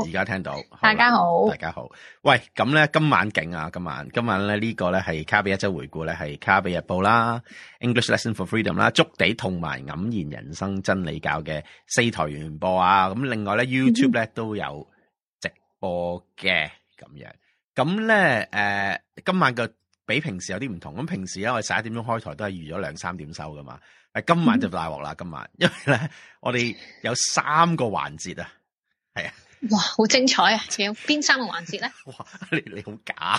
而家聽到。 大家好， 大家好。喂，咁咧今晚勁啊！今晚咧呢個咧係卡比一周回顧咧，係卡比日報啦、English Lesson for Freedom 啦、築地同埋黯然人生真理教嘅4台聯播啊！咁另外咧 YouTube 咧都有直播嘅咁樣。咁咧今晚嘅比平時有啲唔同。咁平時咧我哋11點鐘開台都係預咗2-3點收噶嘛。今晚就大鑊啦！今晚因為咧我哋有3個環節啊，係啊。 哇，好精彩啊！仲有邊3個環節咧？ 哇，你好假！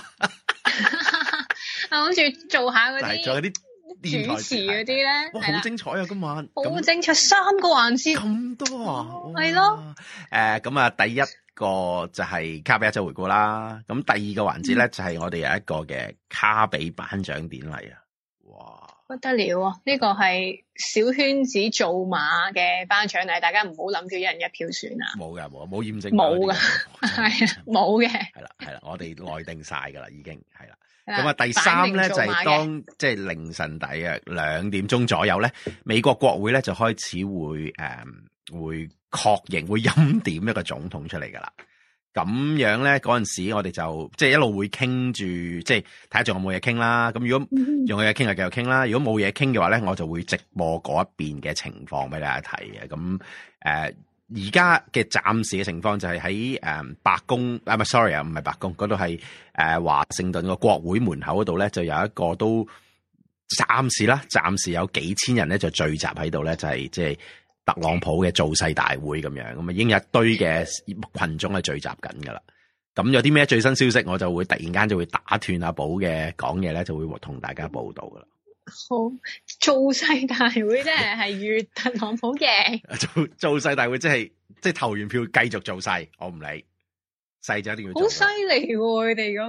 我諗住做下嗰啲， 仲有啲主持嗰啲咧， 哇，好精彩啊！今晚好精彩，3個環節咁多啊， 係咯。 咁啊，第一個就係卡比一周回顧啦。咁第二個環節咧就係我哋有一個嘅卡比頒獎典禮啊！哇！ 不得了啊！呢個係小圈子造馬嘅頒獎禮，大家唔好諗住一人一票選啊！ 冇驗證， 冇噶，係啊，冇嘅。係啦，我哋內定晒噶啦，已經係啦。咁啊，第三咧就係當即係凌晨大約2點鐘左右咧，美國國會咧就開始會確認會欽點一個總統出嚟噶啦。咁樣咧，嗰陣時我哋就即係一路會傾住，即係睇下仲有冇嘢傾啦。咁如果仲有嘢傾，就繼續傾啦。如果冇嘢傾嘅話咧，我就會直播嗰一邊嘅情況俾大家睇嘅。咁而家嘅暫時嘅情況就係喺白宮唔係白宮嗰度，係華盛頓個國會門口嗰度咧，就有一個都暫時有幾千人咧就聚集喺度咧，就係即係特朗普嘅造勢大會咁樣，咁啊已經有一堆嘅群眾係聚集緊噶啦。咁有啲咩最新消息，我就會突然間就會打斷阿寶嘅講嘢咧，就會同大家報道噶啦。 好，造勢大會即係預特朗普贏。 造勢大會即係投完票繼續造勢，我唔理，勢就一定要做。好犀利喎！佢哋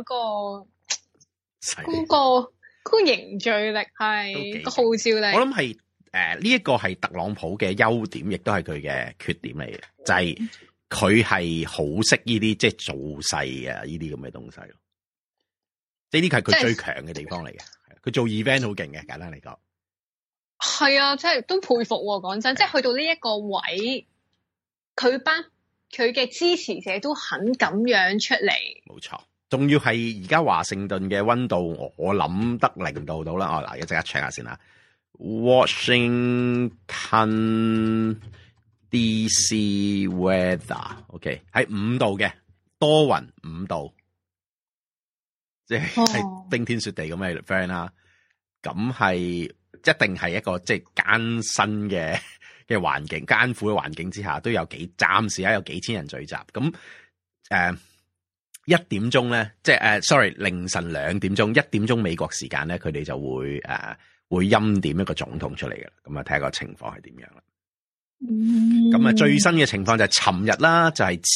嗰個凝聚力係個號召力。 我諗係。呢一個係特朗普嘅優點，亦都係佢嘅缺點嚟嘅，就係佢係好識呢啲即係造勢啊，呢啲咁嘅東西咯。即係呢個係佢最強嘅地方嚟嘅，佢做 event 好勁嘅，簡單嚟講。 係啊，即係都佩服喎。講真，即係去到呢一個位，佢嘅支持者都肯咁樣出嚟。冇錯， 仲要係而家華盛頓嘅溫度，我諗得0度到啦。嗱，而家即刻 check 下先啦。Washington DC weather，OK，喺5度嘅，多雲5度，即係冰天雪地咁嘅 friend 啦。咁係一定係一個即係艱辛嘅環境，艱苦嘅環境之下，都有暫時有幾千人聚集。咁1點鐘咧，即係凌晨2點鐘，1點鐘美國時間咧，佢哋就會欽點一個總統出嚟嘅啦，咁啊睇下個情況係點樣啦。咁啊最新嘅情況就係尋日啦，就係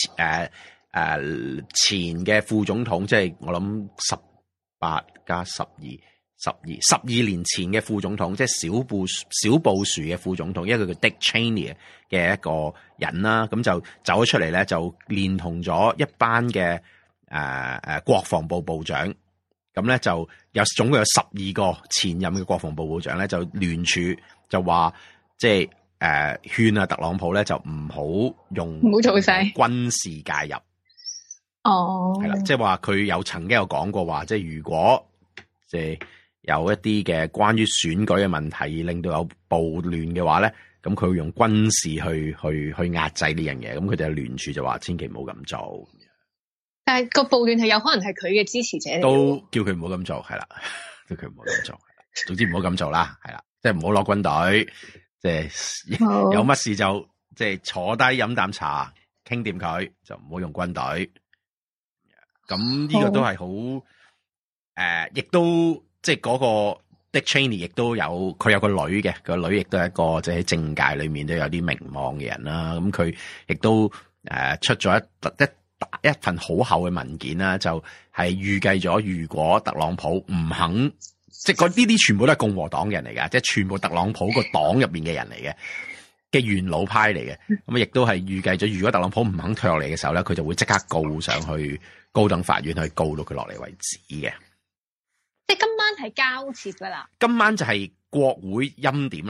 前嘅副總統，即係我諗18加12 12年前嘅副總統，即係小布殊嘅副總統，一個叫 Dick Cheney 嘅一個人啦，咁就走咗出嚟咧，就連同咗一班嘅國防部部長。咁咧就總共有12個前任嘅國防部部長咧，就聯署就話，即係勸啊特朗普咧就唔好做勢軍事介入。 哦， 係啦，即係話佢曾經有講過話，即係如果即係有一啲嘅關於選舉嘅問題，令到有暴亂嘅話咧，咁佢會用軍事去壓制呢樣嘢。咁佢哋聯署就話，千祈唔好咁做。 但係個暴亂係有可能係佢嘅支持者嚟， 都叫佢唔好咁做，係啦，叫佢唔好咁做，總之唔好咁做啦，係啦，即係唔好攞軍隊，即係有乜事就即係坐低飲啖茶，傾掂佢，就唔好用軍隊。咁呢個都係好亦都即係嗰個 Dick Cheney 亦都有佢有個女嘅，個女亦都係一個即係喺政界裏面都有啲名望嘅人啦。咁佢亦都出咗一份好厚嘅文件啦，就係預計咗如果特朗普唔肯，即係呢啲全部都係共和黨人嚟㗎，即係全部特朗普個黨入面嘅人嚟嘅元老派嚟嘅，咁亦都係預計咗如果特朗普唔肯退落嚟嘅時候咧，佢就會即刻告上去高等法院去告到佢落嚟為止嘅。即係今晚係交接㗎啦， 今晚就係國會欽點啦。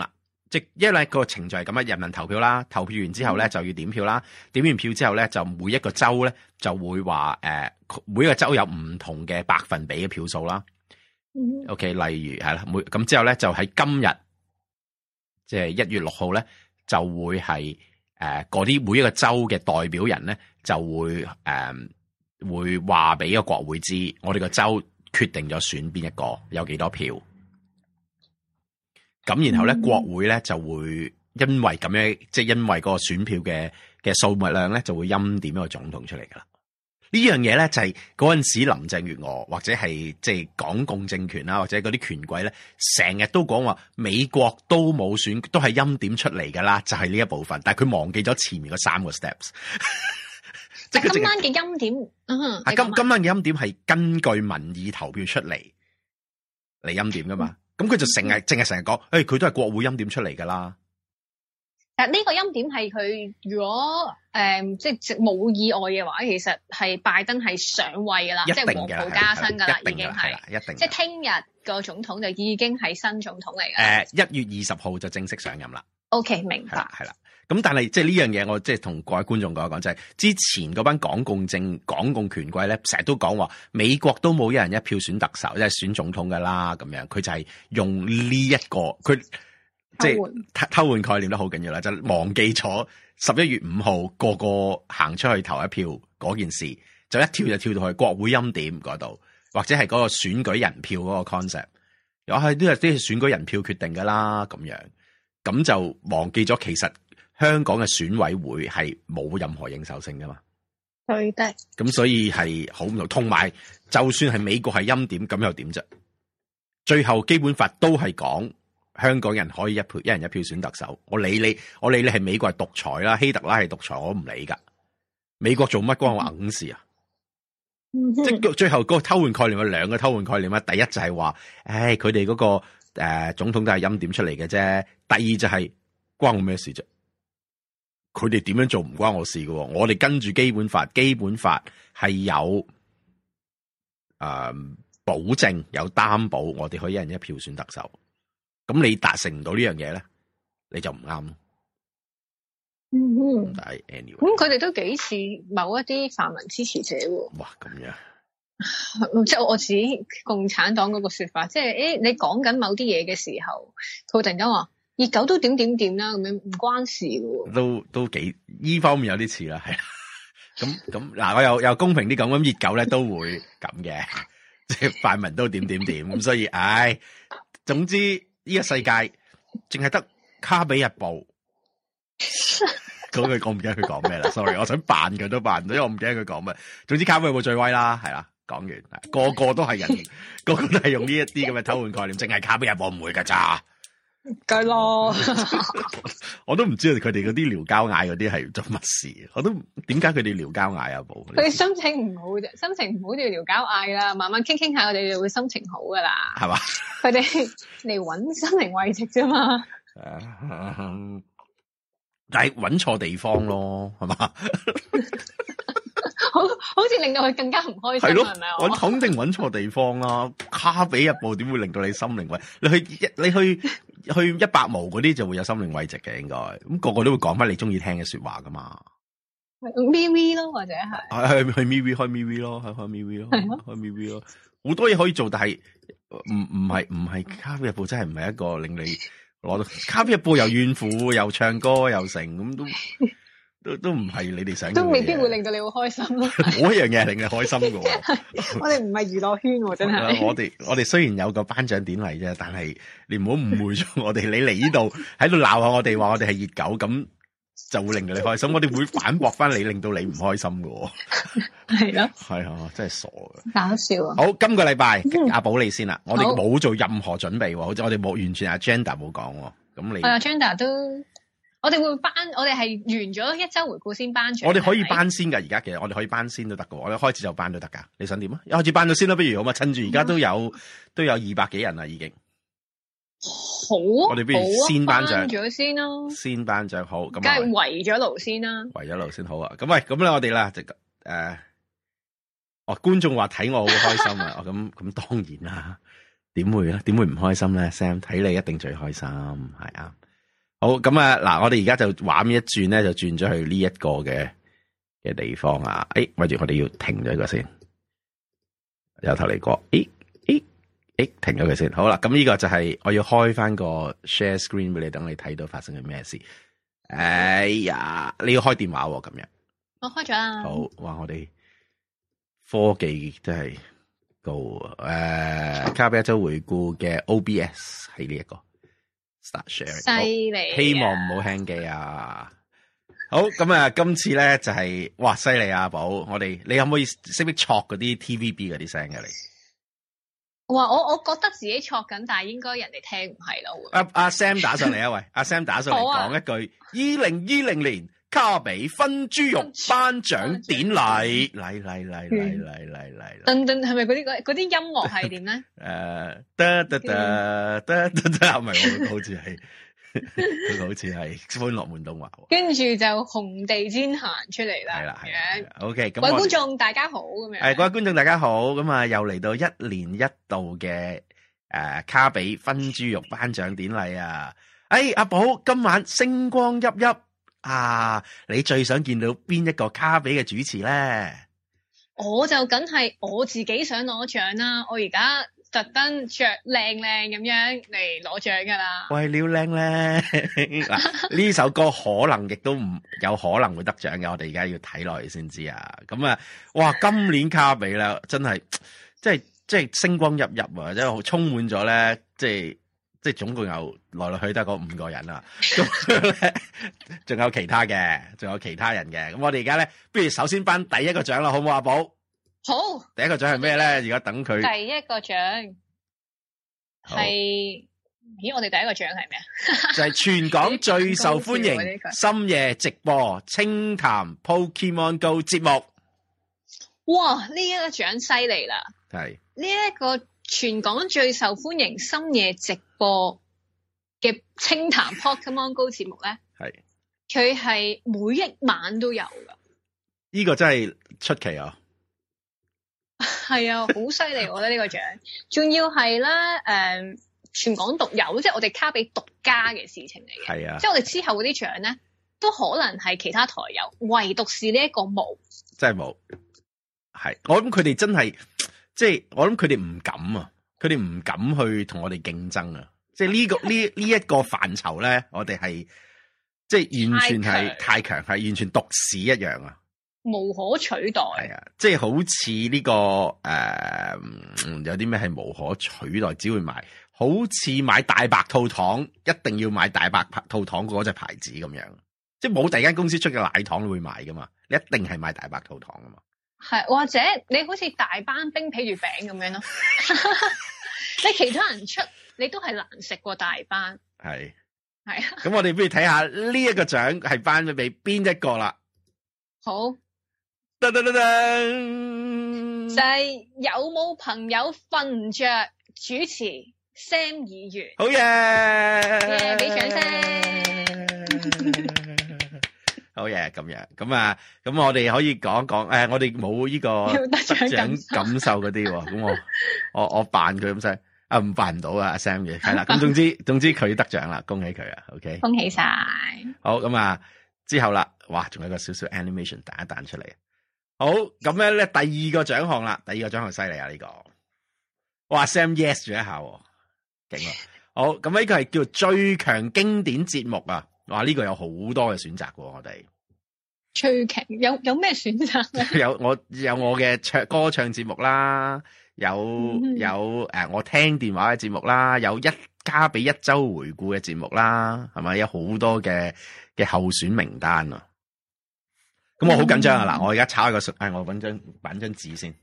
即因為個程序係咁啊，人民投票啦，投票完之後咧就要點票啦，點完票之後咧就每一個州咧就會話每一個州有唔同嘅百分比嘅票數啦。OK， 例如係啦，咁之後咧就喺今日即係1月6號咧就會係嗰啲每一個州嘅代表人咧就會會話俾個國會知，我哋個州決定咗選邊一個，有幾多票。咁然後咧，國會咧就會因為咁樣，即係因為嗰個選票嘅數目量咧，就會欽點一個總統出嚟噶啦。呢樣嘢咧就係嗰陣時林鄭月娥或者係即係港共政權啦，或者嗰啲權貴咧，成日都講話美國都冇選，都係欽點出嚟噶啦，就係呢一部分。但係佢忘記咗前面嗰3個 steps。即係今晚嘅欽點， 今晚嘅欽點係根據民意投票出嚟欽點噶嘛。咁佢就成日講，佢都係國會欽點出嚟噶啦。 但呢個欽點係佢如果即係冇意外嘅話，其實係拜登係上位噶啦，即係黃袍加身噶啦，已經係一定。即係聽日個總統就已經係新總統嚟嘅。1月20號就正式上任啦。OK， 明白。係啦。咁但係即係呢樣嘢，我即係同各位觀眾講一講，就係之前嗰班港共權貴咧，成日都講話美國都冇一人一票選特首，即係選總統噶啦咁樣。佢就係用呢一個，佢即係偷換概念都好緊要啦，就忘記咗11月5號個個行出去投一票嗰件事，就一跳就跳到去國會欽點嗰度，或者係嗰個選舉人票嗰個 concept，又係都係啲選舉人票決定噶啦咁樣，咁就忘記咗其實香港嘅選委會係冇任何認受性噶嘛， 對的。咁所以係好唔同，同埋就算係美國係欽點，咁又點啫？最後基本法都係講香港人可以一人一票選特首。我理你係美國係獨裁啦，希特拉係獨裁，我唔理噶。美國做乜關我硬事啊？即係最後嗰個偷換概念有兩個偷換概念啊。第一就係話，佢哋嗰個總統都係欽點出嚟嘅啫。第二就係關我咩事啫？佢哋點樣做唔關我事嘅，我哋跟住基本法，基本法係有保證有擔保，我哋可以一人一票選特首。咁你達成唔到呢樣嘢咧，你就唔啱咯。但係 anyway， 咁佢哋都幾似某一啲泛民支持者喎。 哇，咁樣， 即係我指共產黨嗰個說法，即係你講緊某啲嘢嘅時候，佢突然間話。熱狗都點啦，咁樣唔關事喎。 都幾依方面有啲似啦，係啦。咁嗱，我又公平啲講，咁熱狗咧都會咁嘅，即係泛民都點咁，所以總之呢個世界淨係得卡比日報嗰句，我唔記得佢講咩啦。sorry， 我想扮佢都扮唔到，因為我唔記得佢講咩。總之卡比日報最威啦，係啦。講完，個個都係人，個個都係用呢一啲咁嘅偷換概念，淨係卡比日報唔會噶咋。 梗咯， 我都唔知佢哋嗰啲撩交嗌嗰啲係做乜事，我都點解佢哋撩交嗌啊？冇， 佢哋心情唔好啫，心情唔好就要撩交嗌啦，慢慢傾下，我哋就會心情好噶啦，係嘛？佢哋嚟搵心靈慰藉啫嘛， 但係搵錯地方咯，係嘛？ 好似令到佢更加唔開心，係咯？係咪啊？ 我肯定搵錯地方啦，卡比日報點會令到你心靈慰？你去100毛嗰啲就會有心靈慰藉嘅，應該咁個個都會講翻你中意聽嘅說話噶嘛。 MeWe 咯，或者係去 MeWe 開 MeWe 咯，開 MeWe 咯，開 MeWe 咯，好多嘢可以做，但係唔係卡比日報真係唔係一個令你攞到卡比日報又怨婦又唱歌又成咁都唔係你哋想， 都未必會令到你好開心咯。 嗰樣嘢係令你開心嘅喎。 我哋唔係娛樂圈喎，真係。 我哋雖然有個頒獎典禮啫，但係你唔好誤會咗我哋。你嚟呢度喺度鬧下我哋，話我哋係熱狗，咁就會令到你開心。我哋會反駁翻你，令到你唔開心嘅喎。係咯。係啊，真係傻嘅。搞笑啊！好，今個禮拜阿寶你先啦。我哋冇做任何準備喎，好似我哋冇完全 agenda 冇講喎。咁你agenda 都。我哋會我哋係完咗一周回顧先頒獎。我哋可以頒先噶，而家其實我哋可以頒先都得噶。我哋開始就頒都得噶。你想點啊？一開始頒咗先啦，不如好嘛？趁住而家都有200幾人啦，已經。好啊！我哋不如先頒獎咗先咯。先頒獎好，咁梗係圍咗爐先啦。圍咗爐先好啊！咁喂，咁咧我哋啦，就觀眾話睇我好開心啊！咁當然啦，點會咧？點會唔開心咧？Sam 睇你一定最開心，係啊！ 好，咁啊，嗱，我哋而家就畫面一轉咧，就轉咗去呢一個嘅地方啊。喂住，我哋要停咗一個先，由頭嚟過。停咗佢先。好啦，咁呢個就係我要開翻個 share screen 俾你，等你睇到發生緊咩事。哎呀，你要開電話喎，今日我開咗啦。 好，哇，我哋科技真係高啊。卡比一周回顧嘅 OBS 係呢一個 start sharing， 犀利， 希望唔好 hang 機啊。好，咁啊，今次咧就係哇，犀利啊，寶，你可唔可以識唔識錯嗰啲 TVB 嗰啲聲嘅你？ 哇！我覺得自己錯緊，但係應該人哋聽唔係咯。 阿 Sam 打上嚟啊，喂！阿 Sam 打上嚟講一句：2020年卡比分豬肉頒獎典禮，嚟！ 噔噔，係咪嗰啲音樂係點咧？ 唔係，好似係。佢好似係歡樂滿東華， 跟住就紅地氈行出嚟啦。係啦 ，OK。 各位觀眾大家好，咁樣。 各位觀眾大家好，咁啊又嚟到一年一度嘅卡比分豬肉頒獎典禮啊！阿寶今晚星光熠熠啊！你最想見到邊一個卡比嘅主持咧？我就梗係我自己想攞獎啦！我而家特登着靚靚咁樣嚟攞獎噶啦， 為了靚咧嗱，呢首歌可能亦都唔有可能會得獎嘅，我哋而家要睇落去先知啊！咁啊，哇，今年卡比啦，真係即係星光熠熠啊，即係充滿咗咧，即係總共有來來去得嗰5個人啊，咁仲有其他嘅，仲有其他人嘅，咁我哋而家咧，不如首先頒第一個獎啦，好唔好啊，寶？ 好， 第一個獎係咩咧？而家等佢。 第一個獎係，咦？我哋第一個獎係咩啊？就係全港最受歡迎深夜直播清談 Pokemon Go 節目。 哇！呢一個獎犀利啦。 係。 呢一個全港最受歡迎深夜直播嘅清談 Pokemon Go 節目咧，係。佢係每一晚都有噶。 呢個真係出奇啊！ 係啊，好犀利！我覺得呢個獎，仲要係咧，全港獨有，即係我哋卡比獨家嘅事情嚟嘅。係啊，即係我哋之後嗰啲獎咧，都可能係其他台有，唯獨是呢一個冇，真係冇。係，我諗佢哋真係，即係我諗佢哋唔敢啊，佢哋唔敢去同我哋競爭啊。即係呢個呢一個範疇咧，我哋係即係完全係太強，係完全獨市一樣啊。無可取代，係啊，即係好似呢個有啲咩係無可取代，只會買，好似買大白兔糖，一定要買大白兔糖嗰隻牌子咁樣，即係冇第二間公司出嘅奶糖會買噶嘛，你一定係買大白兔糖噶嘛，係或者你好似大班冰皮月餅咁樣咯，你其他人出你都係難食過大班，係啊，咁我哋不如睇下呢一個獎係頒咗俾邊一個啦，好。噔噔噔噔，就係有冇朋友瞓唔着主持 Sam 議員，好嘢，俾掌聲，好嘢，咁樣，咁啊，咁我哋可以講講，我哋冇呢個得獎感受嗰啲，咁我扮佢咁犀，唔扮唔到啊 Sam 嘅，係啦，咁總之佢得獎啦，恭喜佢啊 ，OK，恭喜晒，好，咁啊之後啦，哇，仲有一個少少 animation 彈一彈出嚟。好，咁咧第二個獎項啦，第二個獎項犀利啊呢個，哇 Sam yes 咗一下，勁啊！好，咁呢個係叫最強經典節目啊，哇呢個有好多嘅選擇喎，我哋最強有咩選擇咧？有我嘅歌唱節目啦，有我聽電話嘅節目啦，有卡比一周回顧嘅節目啦，係咪有好多嘅候選名單啊？咁我好緊張啊！嗱，我而家抄一個信，我搵張紙先。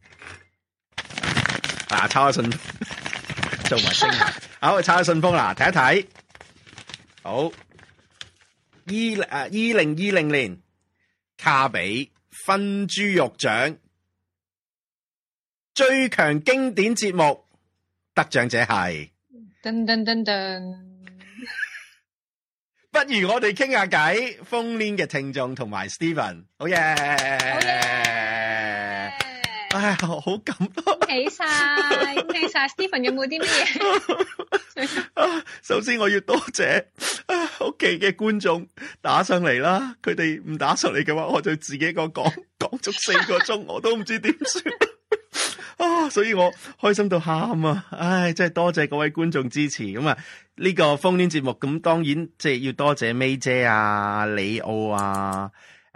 抄個信，做埋聲。好，我抄個信封啦，睇一睇。好，2020年卡比分豬肉獎最強經典節目得獎者係噔噔噔噔。不如我哋傾下偈，phone in嘅聽眾同埋 Steven， 好嘢！唉， 好感動， 恭喜晒，Stephen 有冇啲乜嘢？ 首先我要多謝屋企嘅觀眾打上嚟啦，佢哋唔打上嚟嘅話，我就自己一個講足4個鐘，我都唔知點算所以我開心到喊啊！唉，真係多謝各位觀眾支持咁啊！呢個烽煙節目咁，當然即係要多謝 May 姐啊、李奧啊、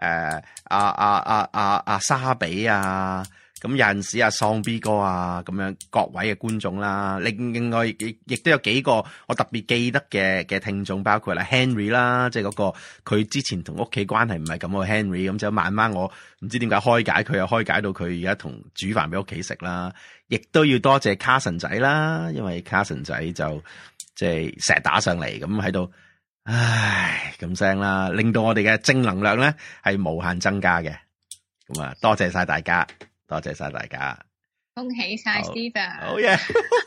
沙比啊。咁有陣時喪 B 哥啊，咁樣各位嘅觀眾啦，另外亦都有幾個我特別記得嘅聽眾，包括啦 Henry 啦，即係嗰個佢之前同屋企關係唔係咁嘅 Henry，咁就慢慢我唔知點解開解佢，又開解到佢而家同煮飯俾屋企食啦。亦都要多謝 Carson 仔啦，因為 Carson 仔就即係成日打上嚟咁喺度，唉咁聲啦，令到我哋嘅正能量咧係無限增加嘅。咁啊，多謝晒大家。多謝晒大家， 恭喜晒 Stephen， 好嘢，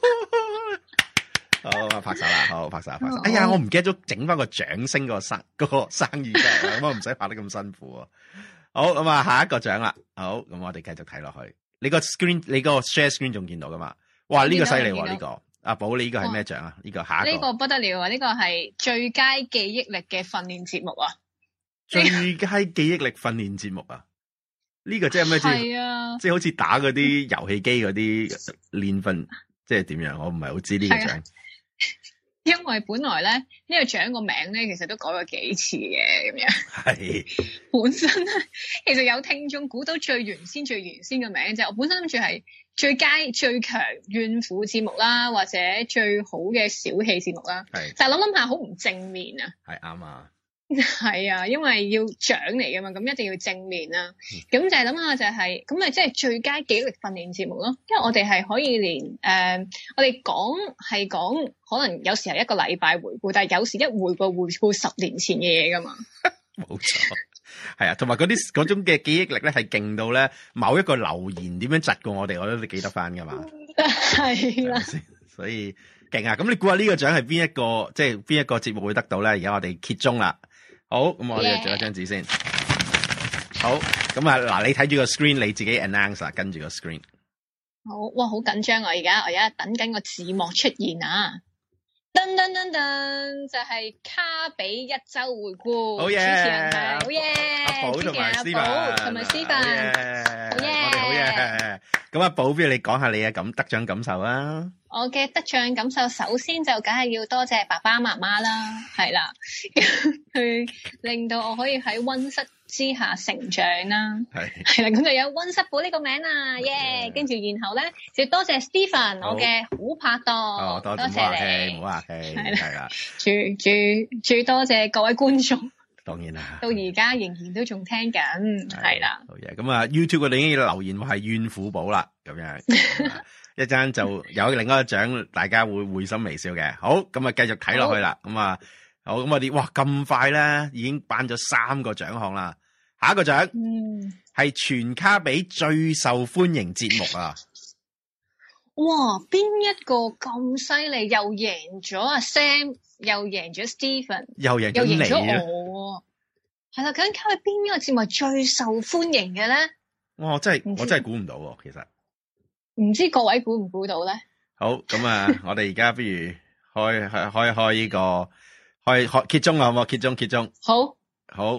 好拍手啦，好拍手。哎呀，我唔記得咗整翻個掌聲個生意嘅，咁我唔使拍得咁辛苦啊。好，咁啊，下一個獎啦，好，咁我哋繼續睇落去。你個 share screen 仲見到噶嘛？哇，呢個犀利喎，呢個阿寶，你呢個係咩獎啊？呢個下一個呢個不得了啊！呢個係最佳記憶力嘅訓練節目啊！ 最佳記憶力訓練節目啊！呢個即係咩？係啊，即係好似打嗰啲遊戲機嗰啲練訓，即係點樣？我唔係好知呢個獎。 因為本來咧呢個獎個名咧，其實都改過幾次嘅咁樣。係本身咧，其實有聽眾估到最原先嘅名，就係我本身諗住係最佳最強怨婦節目啦，或者最好嘅小氣節目啦。係，但係諗下好唔正面啊。係啱啊。係啊，因為要獎嚟噶嘛，咁一定要正面啦。咁就係諗下就係咁咪即係最佳記憶力訓練節目咯。因為我哋係可以連我哋講可能有時係一個禮拜回顧，但係有時一回顧10年前嘅嘢噶嘛。冇錯， 係啊，同埋嗰種嘅記憶力咧係勁到咧，某一個留言點樣窒過我哋，我都記得翻噶嘛。係啦，所以勁啊！咁你估下呢個獎係邊一個？即係邊一個節目會得到咧？而家我哋揭盅啦。好，咁我哋就做一張紙先。好，咁啊，嗱，你睇住個 screen，你自己 announce 啊，跟住個 screen。 好，哇，好緊張啊！我而家等緊個字幕出現啊！噔噔噔噔，就係卡比一周回顧。好嘢，主持人係好嘢，阿寶同埋 Stephen，好嘢，我哋好嘢。 咁阿寶，不如你講下你嘅得獎感受啊？ 我嘅得獎感受，首先就梗係要多謝爸爸媽媽啦，係啦，佢令到我可以喺溫室之下成長啦，係啦，咁就有溫室寶呢個名啦，耶！跟住然後咧，就多謝 Stephen，我嘅好拍檔，多謝你，唔好客氣，係啦，最多謝各位觀眾。 當然啦， 到而家仍然都仲聽緊，係啦。 好嘢，咁啊 YouTube 嗰度已經留言話係怨婦寶啦，咁樣一陣就有另外一個獎，大家會心微笑嘅。好，咁啊繼續睇落去啦。咁啊，好，咁我哋哇咁快咧，已經頒咗3個獎項啦。下一個獎，係全卡比最受歡迎節目啊！ 哇，邊一個咁犀利？又贏咗阿 Sam。又贏咗 Stephen， 又贏咗我，係啦。究竟卡比邊一個節目最受歡迎嘅咧？ 哇！我真係估唔到喎，其實唔知各位估唔估到咧？ 好，咁啊，我哋而家不如開呢個開揭盅啊，好唔好？揭盅。好。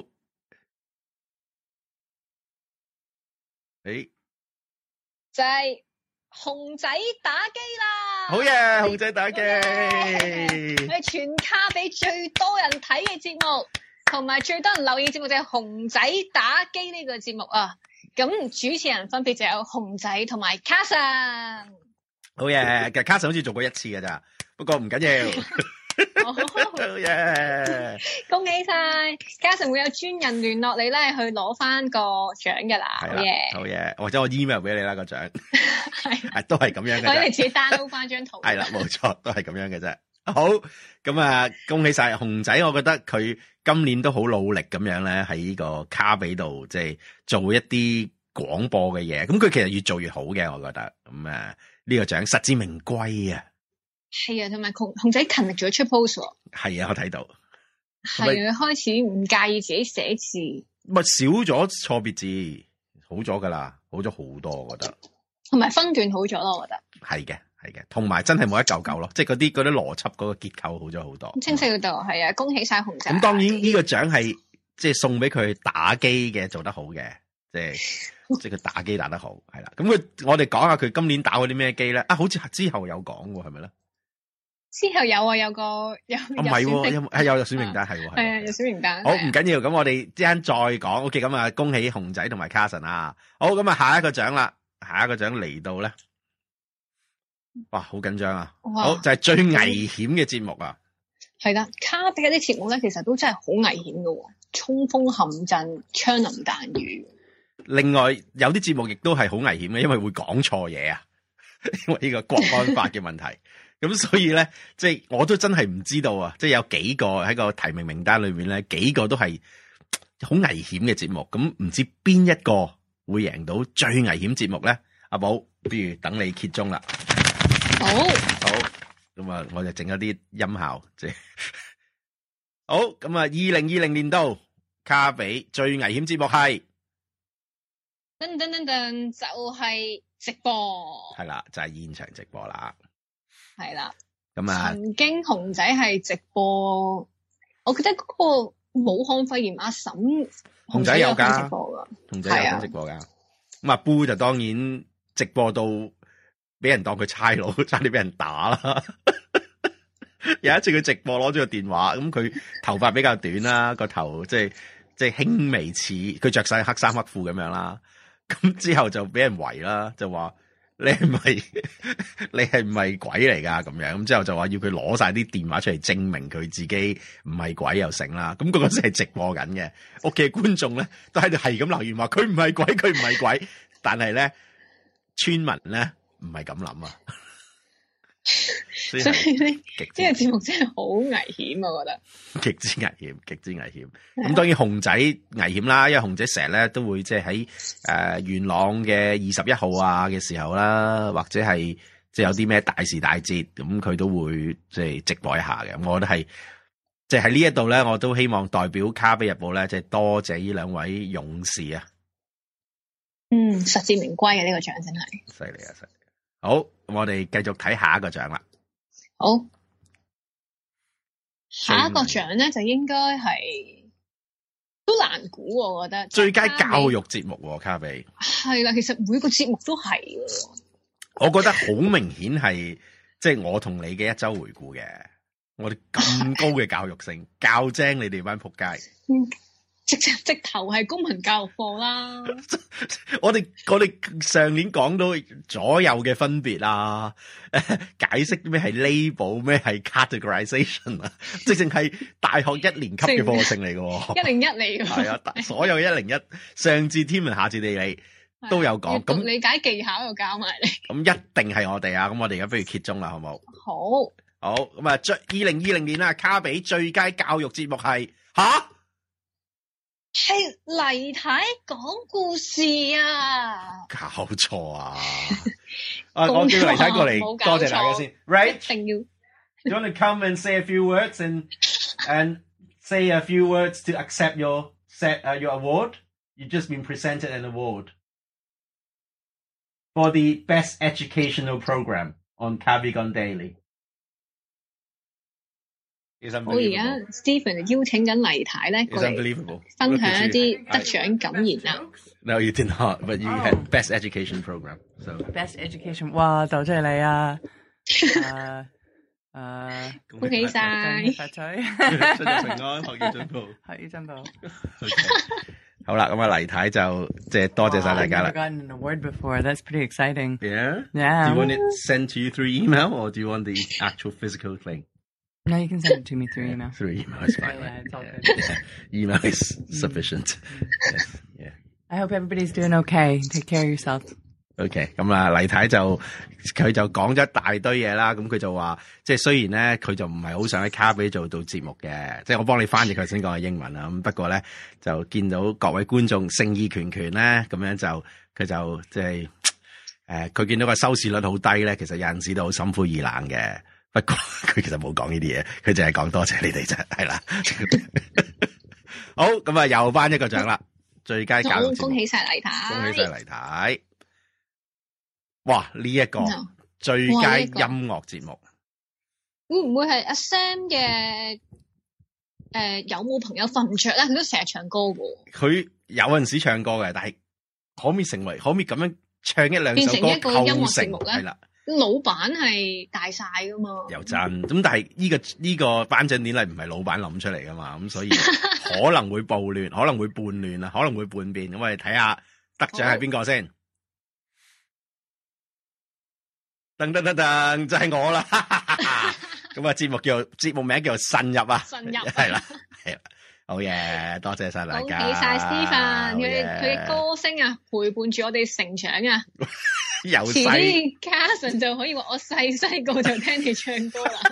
就係熊仔打機啦！ 好嘢，熊仔打機， 係全卡比最多人睇嘅節目，同埋最多人留意嘅節目就係熊仔打機呢個節目啊！咁主持人分別就有熊仔同埋 Carson。 好嘢，其實 Carson 好似做過1次㗎咋，不過唔緊要。好嘢！ 恭喜晒 Carson 會有專人聯絡你咧，去攞翻個獎噶啦。好嘢，或者我 email 俾你啦個獎，係都係咁樣嘅。 我哋自己 download 翻張圖。係啦，冇錯，都係咁樣嘅啫。好，咁啊，恭喜晒熊仔，我覺得佢今年都好努力咁樣咧，喺呢個卡比度即係做一啲廣播嘅嘢。咁佢其實越做越好嘅，我覺得。咁啊，呢個獎實至名歸啊！ 係啊，同埋熊仔勤力咗出 post 喎。 係啊，我睇到。 係啊，開始唔介意自己寫字。 咪少咗錯別字，好咗噶啦，好咗好多，我覺得。 同埋分段好咗咯，我覺得。係嘅，同埋真係冇一嚿嚿咯，即係嗰啲邏輯嗰個結構好咗好多。 清晰到係啊，恭喜晒熊仔。 咁當然呢個獎係即係送俾佢打機嘅做得好嘅，即係佢打機打得好，係啦。咁我哋講下佢今年打過啲咩機咧？啊，好似之後有講喎，係咪咧？ 之後有啊，有個有唔係喎，有選名單係喎， 係啊，有選名單。 好，唔緊要，咁我哋之間再講。OK，咁啊，恭喜熊仔同埋 Carson 啊！好，咁啊，下一個獎啦，下一個獎嚟到咧，哇，好緊張啊！好，就係最危險嘅節目啊！ 係啦，卡比嗰啲節目咧，其實都真係好危險噶，衝鋒陷陣、槍林彈雨。另外有啲節目亦都係好危險嘅，因為會講錯嘢啊，因為呢個國安法嘅問題。咁所以咧，即係我都真係唔知道啊！即係有幾個喺個提名名單裏面咧，幾個都係好危險嘅節目。咁唔知邊一個會贏到最危險節目咧？阿寶，不如等你揭盅啦。 好， 咁啊，我就整一啲音效，即係好。咁啊，2020年度卡比最危險節目係噔噔噔噔，就係直播。 係啦，就係現場直播啦。 係啦， 咁啊， 曾經熊仔係直播，我記得嗰個武漢肺炎阿嬸， 熊仔有噶， 直播噶， 熊仔有直播噶。咁阿 Boo 就當然直播到俾人當佢差佬，差啲俾人打啦。有一次佢直播攞咗個電話，咁佢頭髮比較短啦，個頭即係輕微似，佢着晒黑衫黑褲咁樣啦。咁之後就俾人圍啦，就話。你係唔係鬼嚟㗎？咁樣，咁之後就話要佢攞晒啲電話出嚟證明佢自己唔係鬼又成啦。咁嗰陣係直播緊嘅，屋企嘅觀眾咧都喺度係咁留言話佢唔係鬼，佢唔係鬼。但係咧村民咧唔係咁諗啊。所以呢個節目真係好危險，我覺得極之危險，極之危險。咁當然熊仔危險啦，因為熊仔成日咧都會即係喺元朗嘅21號啊嘅時候啦，或者係即係有啲咩大時大節，咁佢都會即係直播一下嘅。我覺得係即係喺呢一度咧，我都希望代表卡比日報咧，即係多謝呢兩位勇士啊。 實至名歸嘅呢個獎真係犀利啊！犀利。好，我哋繼續睇下一個獎啦。 好，下一個獎咧就應該係都難估，我覺得最佳教育節目卡比係啦，其實每個節目都係， 我覺得好明顯係即係我同你嘅一周回顧嘅，我哋咁高嘅教育性，教精你哋班仆街。 直頭係公民教育課啦！ 我哋上年講到左右嘅分別啊，解釋咩係 label， 咩係 categorization 啊，直情係大學1年級嘅課程嚟嘅 ，101嚟嘅。 係啊，所有101，上至天文下至地理都有講。咁理解技巧又教埋你。咁一定係我哋啊！咁我哋而家不如揭盅啦，好冇？ 好。 咁啊，2020年啊，卡比最佳教育節目係吓？ 係黎太講故事啊！ 搞錯啊！我叫黎太過嚟，多謝大家先。Right？ 一定要。You want to come and say a few words and say a few words to accept your award? You've just been presented an award for the best educational program on Kavigan Daily. 我而家 Stephen 邀請緊黎太咧，過嚟分享一啲得獎感言啦。 No, you did not, but you had best education program. So best education， 哇，就真係你啊！ 恭喜晒！ 發財， 身體平安，學業進步， 學業進步。 好啦，咁啊黎太就即係多謝晒大家啦。 I've never gotten an award before. That's pretty exciting. Yeah. Yeah. Do you want it sent to you through email, or do you want the actual physical thing? No, you can send it to me through email. Through email is fine. Yeah, it's all good. Yeah. Email is sufficient. Yes, yeah. I hope everybody's doing okay. Take care of yourself. OK， 咁啊，黎太佢就講咗一大堆嘢啦。咁佢就話，即係雖然咧，佢就唔係好想喺卡比做到節目嘅，即係我幫你翻譯佢先講嘅英文啦。咁不過咧，就見到各位觀眾誠意拳拳咧，咁樣就佢就即係佢見到個收視率好低咧，其實有陣時都好心灰意冷嘅。不過佢其實冇講呢啲嘢，佢淨係講多謝你哋啫，係啦。好，咁啊，又頒一個獎啦，最佳教育節目。 恭喜晒黎太， 恭喜晒黎太。 哇！呢一個最佳音樂節目， 會唔會係阿 Sam 嘅有冇朋友瞓唔着咧？佢都成日唱歌嘅。佢有陣時唱歌嘅，但係可唔可以咁樣唱一兩首歌變成一個音樂節目咧？ 係啦， 老闆係大晒噶嘛？ 又真咁，但係呢個頒獎典禮唔係老闆諗出嚟噶嘛？咁所以可能會暴亂，可能會叛亂啊，可能會叛變。咁我哋睇下得獎係邊個先。噔噔噔噔，就係我啦！咁啊，節目名叫做慎入啊， 慎入係啦，好嘢，多謝晒大家， 恭喜晒 Stephen，佢嘅歌聲啊，陪伴住我哋成長啊， 由遲啲 Carson 就可以話我細個就聽你唱歌啦。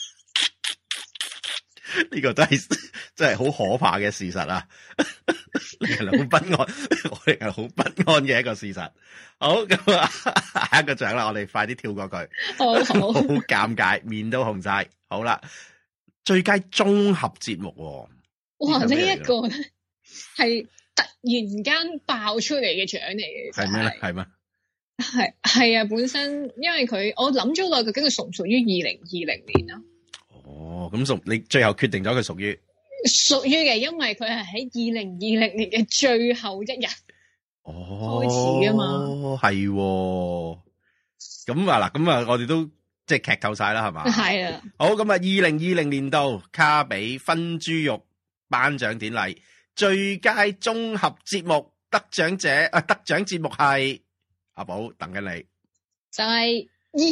呢個真係好可怕嘅事實啊！令人好不安，我哋係好不安嘅一個事實。好，咁啊，下一個獎啦，我哋快啲跳過佢。好尷尬，面都紅晒。好啦，最佳綜合節目。 哇！呢一個咧係突然間爆出嚟嘅獎嚟嘅， 係咩咧？係咩？ 係啊！本身因為我諗咗耐，究竟佢屬唔屬於2020年啊？ 哦，咁你最後決定咗佢屬於嘅，因為佢係喺2020年嘅最後一日開始啊嘛。 係咁啊嗱，咁啊我哋都即係劇透晒啦，係嘛？ 係啊。 好，咁啊2020年度卡比分豬肉頒獎典禮最佳綜合節目得獎節目係阿寶等緊你，就係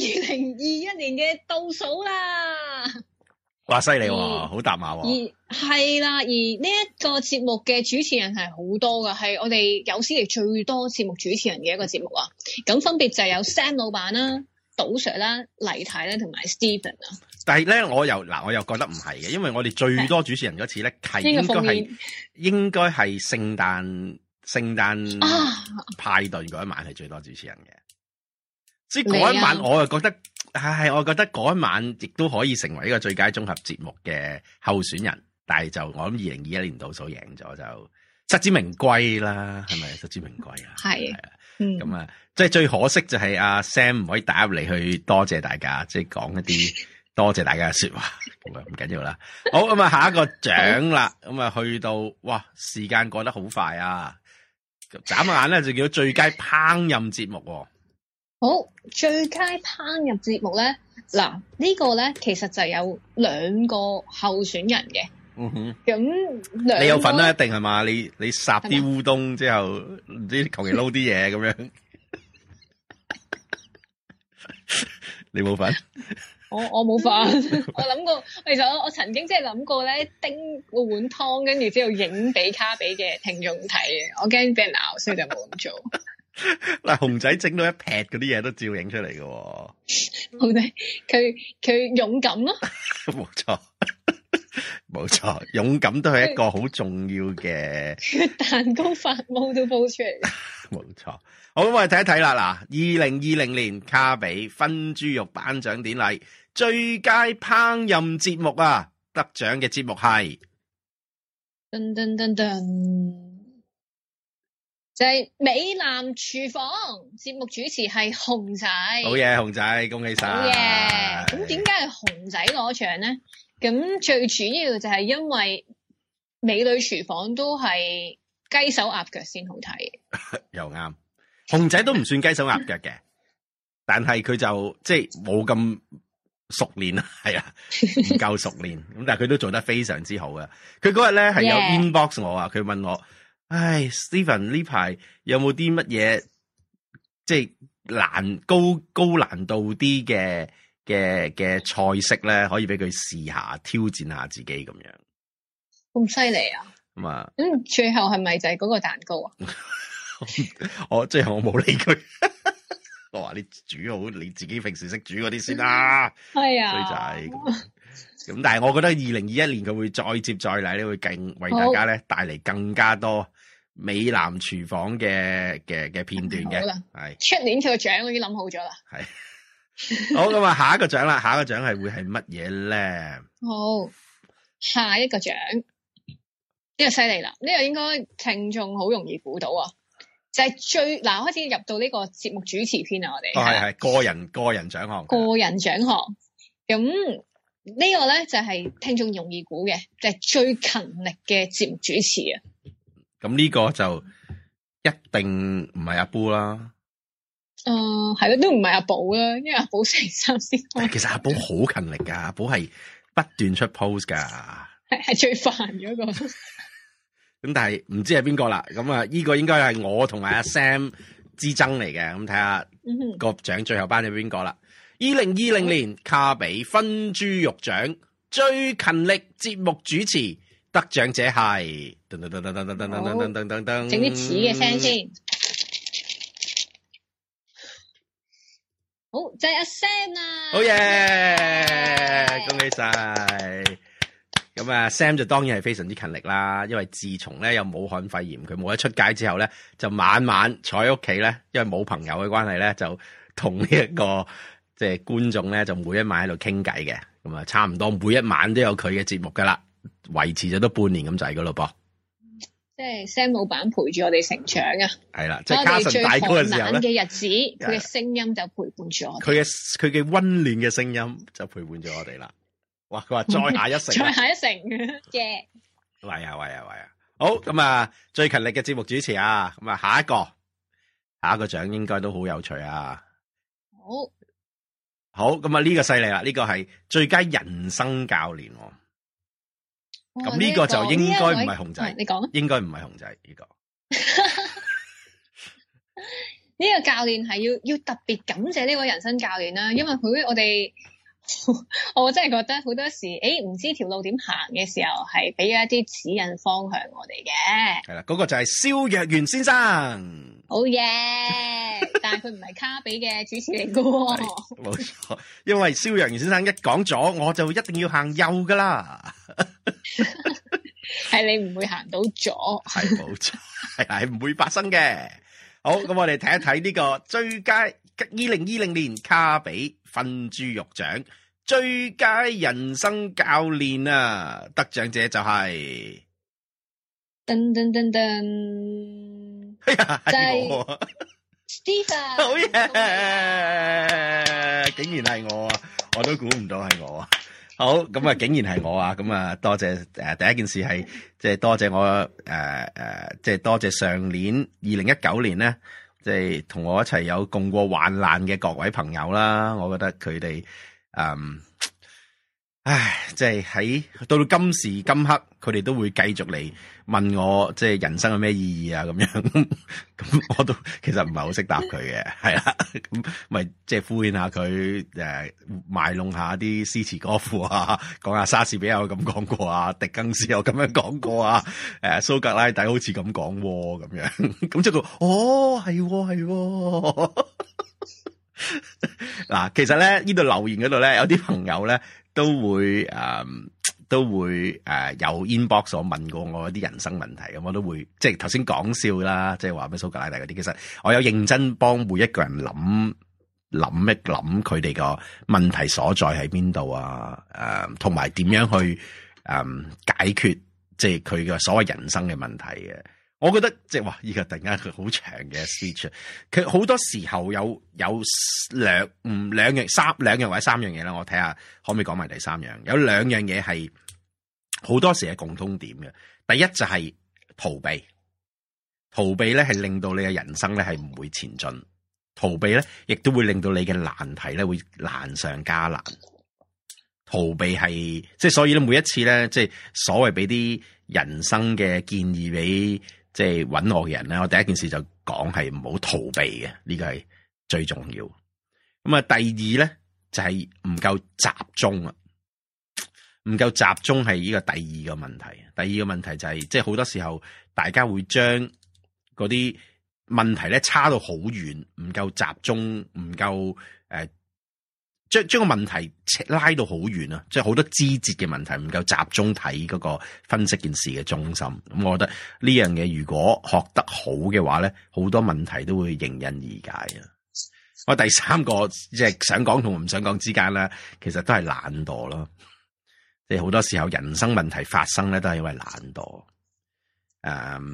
2021年嘅倒數啦。 哇，犀利喎，好搭馬喎。 係啦，而呢一個節目嘅主持人係好多噶，係我哋有史以來最多節目主持人嘅一個節目啊。咁分別就有 Sam 老闆啦、賭 Sir 啦、黎太啦同埋 Stephen 啊。 但係咧，我又覺得唔係嘅，因為我哋最多主持人嗰次咧係應該係聖誕派對嗰一晚係最多主持人嘅。即係嗰一晚，我又覺得我覺得嗰一晚亦都可以成為一個最佳綜合節目嘅候選人，但係就我諗2021年倒數贏咗就實至名歸啦，係咪實至名歸啊？係啊，咁啊，即係最可惜就係阿 Sam 唔可以打入嚟去多謝大家，即係講一啲多謝大家嘅說話，咁啊唔緊要啦。好，咁啊，下一個獎啦，咁啊去到哇，時間過得好快啊！眨眼咧就叫最佳烹飪節目。 好，最佳烹飪節目咧，嗱呢個咧其實就有2個候選人嘅。咁你有份啦，一定係嘛？你烚啲烏冬之後，唔知求其撈啲嘢咁樣，你冇份？ 我冇份。我諗過，其實我曾經即係諗過咧，叮個碗湯，跟住之後影俾卡比嘅聽眾睇嘅。我驚俾人鬧，所以就冇咁做。 嗱，熊仔整到一劈嗰啲嘢都照影出嚟嘅。 熊仔佢勇敢咯。 冇錯，冇錯，勇敢都係一個好重要嘅。 蛋糕發毛都煲出嚟。 冇錯，好，咁我哋睇一睇啦。嗱，2020年卡比分豬肉頒獎典禮最佳烹飪節目啊，得獎嘅節目係噔噔噔噔。就係美男廚房，節目主持係熊仔。 好嘢，熊仔，恭喜晒！ 好嘢。咁點解係熊仔攞獎咧？咁最主要就係因為美女廚房都係雞手鴨腳先好睇。 又啱，熊仔都唔算雞手鴨腳嘅，但係佢就即係冇咁熟練啊，係啊，唔夠熟練。咁但係佢都做得非常之好嘅。佢嗰日咧係有 inbox 我啊，佢問我。唉 ，Stephen 呢排有冇啲乜嘢即係高難度啲嘅菜式咧，可以俾佢試下挑戰下自己咁樣？ 咁犀利啊！咁啊，最後係咪就係嗰個蛋糕啊？ 我最後我冇理佢，我話你煮好你自己平時識煮嗰啲先啦。係啊，衰仔。咁但係我覺得2021年佢會再接再厲咧，會更為大家咧帶嚟更加多美男廚房嘅片段嘅。係出年佢個獎我已經諗好咗啦。 係好，咁啊，下一個獎啦，下一個獎係會係乜嘢咧？ 好，下一個獎呢個犀利啦，呢個應該聽眾好容易估到啊！ 就係開始入到呢個節目主持篇啊，我哋係個人獎項， 個人獎項。咁呢個咧就係聽眾容易估嘅，就係最勤力嘅節目主持啊。 咁呢個就一定唔係阿 Bo 啦。 係咯，都唔係阿寶啦，因為阿寶星期三先開。 其實阿寶好勤力噶，阿寶係不斷出 post 噶， 係最煩嗰個。 咁但係唔知係邊個啦。咁啊，呢個應該係我同埋阿 Sam 之爭嚟嘅。咁睇下個獎最後頒咗邊個啦。2020年卡比分豬肉獎最勤力節目主持得獎者係噔噔噔噔噔噔噔噔噔噔噔， 整啲似嘅聲先。好，就係阿 Sam 啊！ 好嘢，恭喜晒！咁啊 ，Sam 就當然係非常之勤力啦，因為自從咧有武漢肺炎，佢冇得出街之後咧，就晚晚坐喺屋企咧，因為冇朋友嘅關係咧，就同呢一個即係觀眾咧，就每一晚喺度傾偈嘅，咁啊，差唔多每一晚都有佢嘅節目噶啦，維持咗都半年咁滯噶咯噃。 即係 Sam 老闆陪住我哋成長啊！ 係啦，即係卡神大哥嘅時候咧嘅日子，佢嘅聲音就陪伴住我哋。 佢嘅溫暖嘅聲音就陪伴住我哋啦。哇！佢話再下一城， 再下一城嘅。 喂啊！好咁啊，最勤力嘅節目主持啊，咁啊下一個獎應該都好有趣啊。好咁啊，呢個犀利啦，呢個係最佳人生教練。咁呢個就應該唔係熊仔， 你講， 應該唔係熊仔呢個。 呢個教練係要特別感謝呢位人生教練啦，因為我真係覺得好多時，唔知條路點行嘅時候，係俾咗一啲指引方向我哋嘅。 係啦，嗰個就係蕭若元先生。 好嘢，但係佢唔係卡比嘅主持嚟噶。 冇錯，因為蕭若元先生一講咗，我就一定要行右噶啦。 係你唔會行到左， 係冇錯，係唔會發生嘅。好，咁我哋睇一睇呢個最佳2020年卡比分豬肉獎最佳人生教練啊，得獎者就係噔噔噔噔， 係我 Stephen， 好嘢，竟然係我啊，我都估唔到係我啊。好，咁啊，竟然係我啊，咁啊，多謝第一件事係即係多謝我即係多謝上年2019年咧，即係同我一齊有共過患難嘅各位朋友啦，我覺得佢哋即係喺到今時今刻，佢哋都會繼續嚟問我，即係人生有咩意義啊咁樣，咁我都其實唔係好識答佢嘅，係啦，咁咪即係敷衍下佢，賣弄下啲詩詞歌賦啊，講下莎士比亞有咁講過啊，狄更斯有咁樣講過啊，蘇格拉底好似咁講咁樣，咁即係係嗱，其實咧呢度留言嗰度咧，有啲朋友咧都會有 inbox 我問過我一啲人生問題，咁我都會即係頭先講笑啦，即係話咩蘇格拉底嗰啲，其實我有認真幫每一個人諗一諗佢哋個問題所在喺邊度啊，同埋點樣去解決即係佢嘅所謂人生嘅問題嘅。我覺得即係話依個突然間佢好長嘅 speech， 佢好多時候有兩樣或者三樣嘢啦，我睇下可唔可以講埋第三樣。有兩樣嘢係好多時係共通點嘅。第一就係逃避咧係令到你嘅人生咧係唔會前進，逃避咧亦都會令到你嘅難題咧會難上加難。逃避係即係所以咧每一次咧即係所謂俾啲人生嘅建議俾即係揾我嘅人咧，我第一件事就講係唔好逃避嘅，呢個係最重要。咁啊，第二咧就係唔夠集中啊，唔夠集中係呢個第二個問題。第二個問題就係即係好多時候大家會將嗰啲問題咧差到好遠，唔夠集中，唔夠將個問題拉到好遠啊！即係好多枝節嘅問題唔夠集中睇嗰個分析件事嘅中心。咁我覺得呢樣嘢如果學得好嘅話咧，好多問題都會迎刃而解啊！我第三個即係想講同唔想講之間咧，其實都係懶惰咯。即係好多時候人生問題發生咧，都係因為懶惰。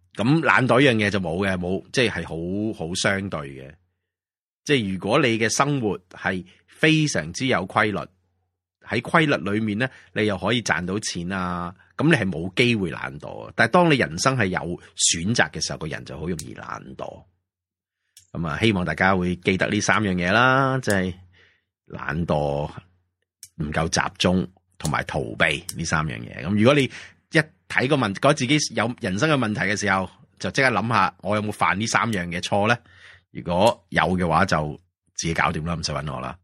咁懶惰樣嘢就冇嘅，冇即係好相對嘅。即係如果你嘅生活係非常之有規律，喺規律裏面咧，你又可以賺到錢啊，咁你係冇機會懶惰。但係當你人生係有選擇嘅時候，個人就好容易懶惰。咁啊，希望大家會記得呢3樣嘢啦，即係懶惰、唔夠集中同埋逃避呢3樣嘢。咁如果你一睇個問，覺得自己有人生嘅問題嘅時候，就即刻諗下，我有冇犯呢3樣嘅錯咧？如果有嘅話，就自己搞掂啦，唔使搵我啦。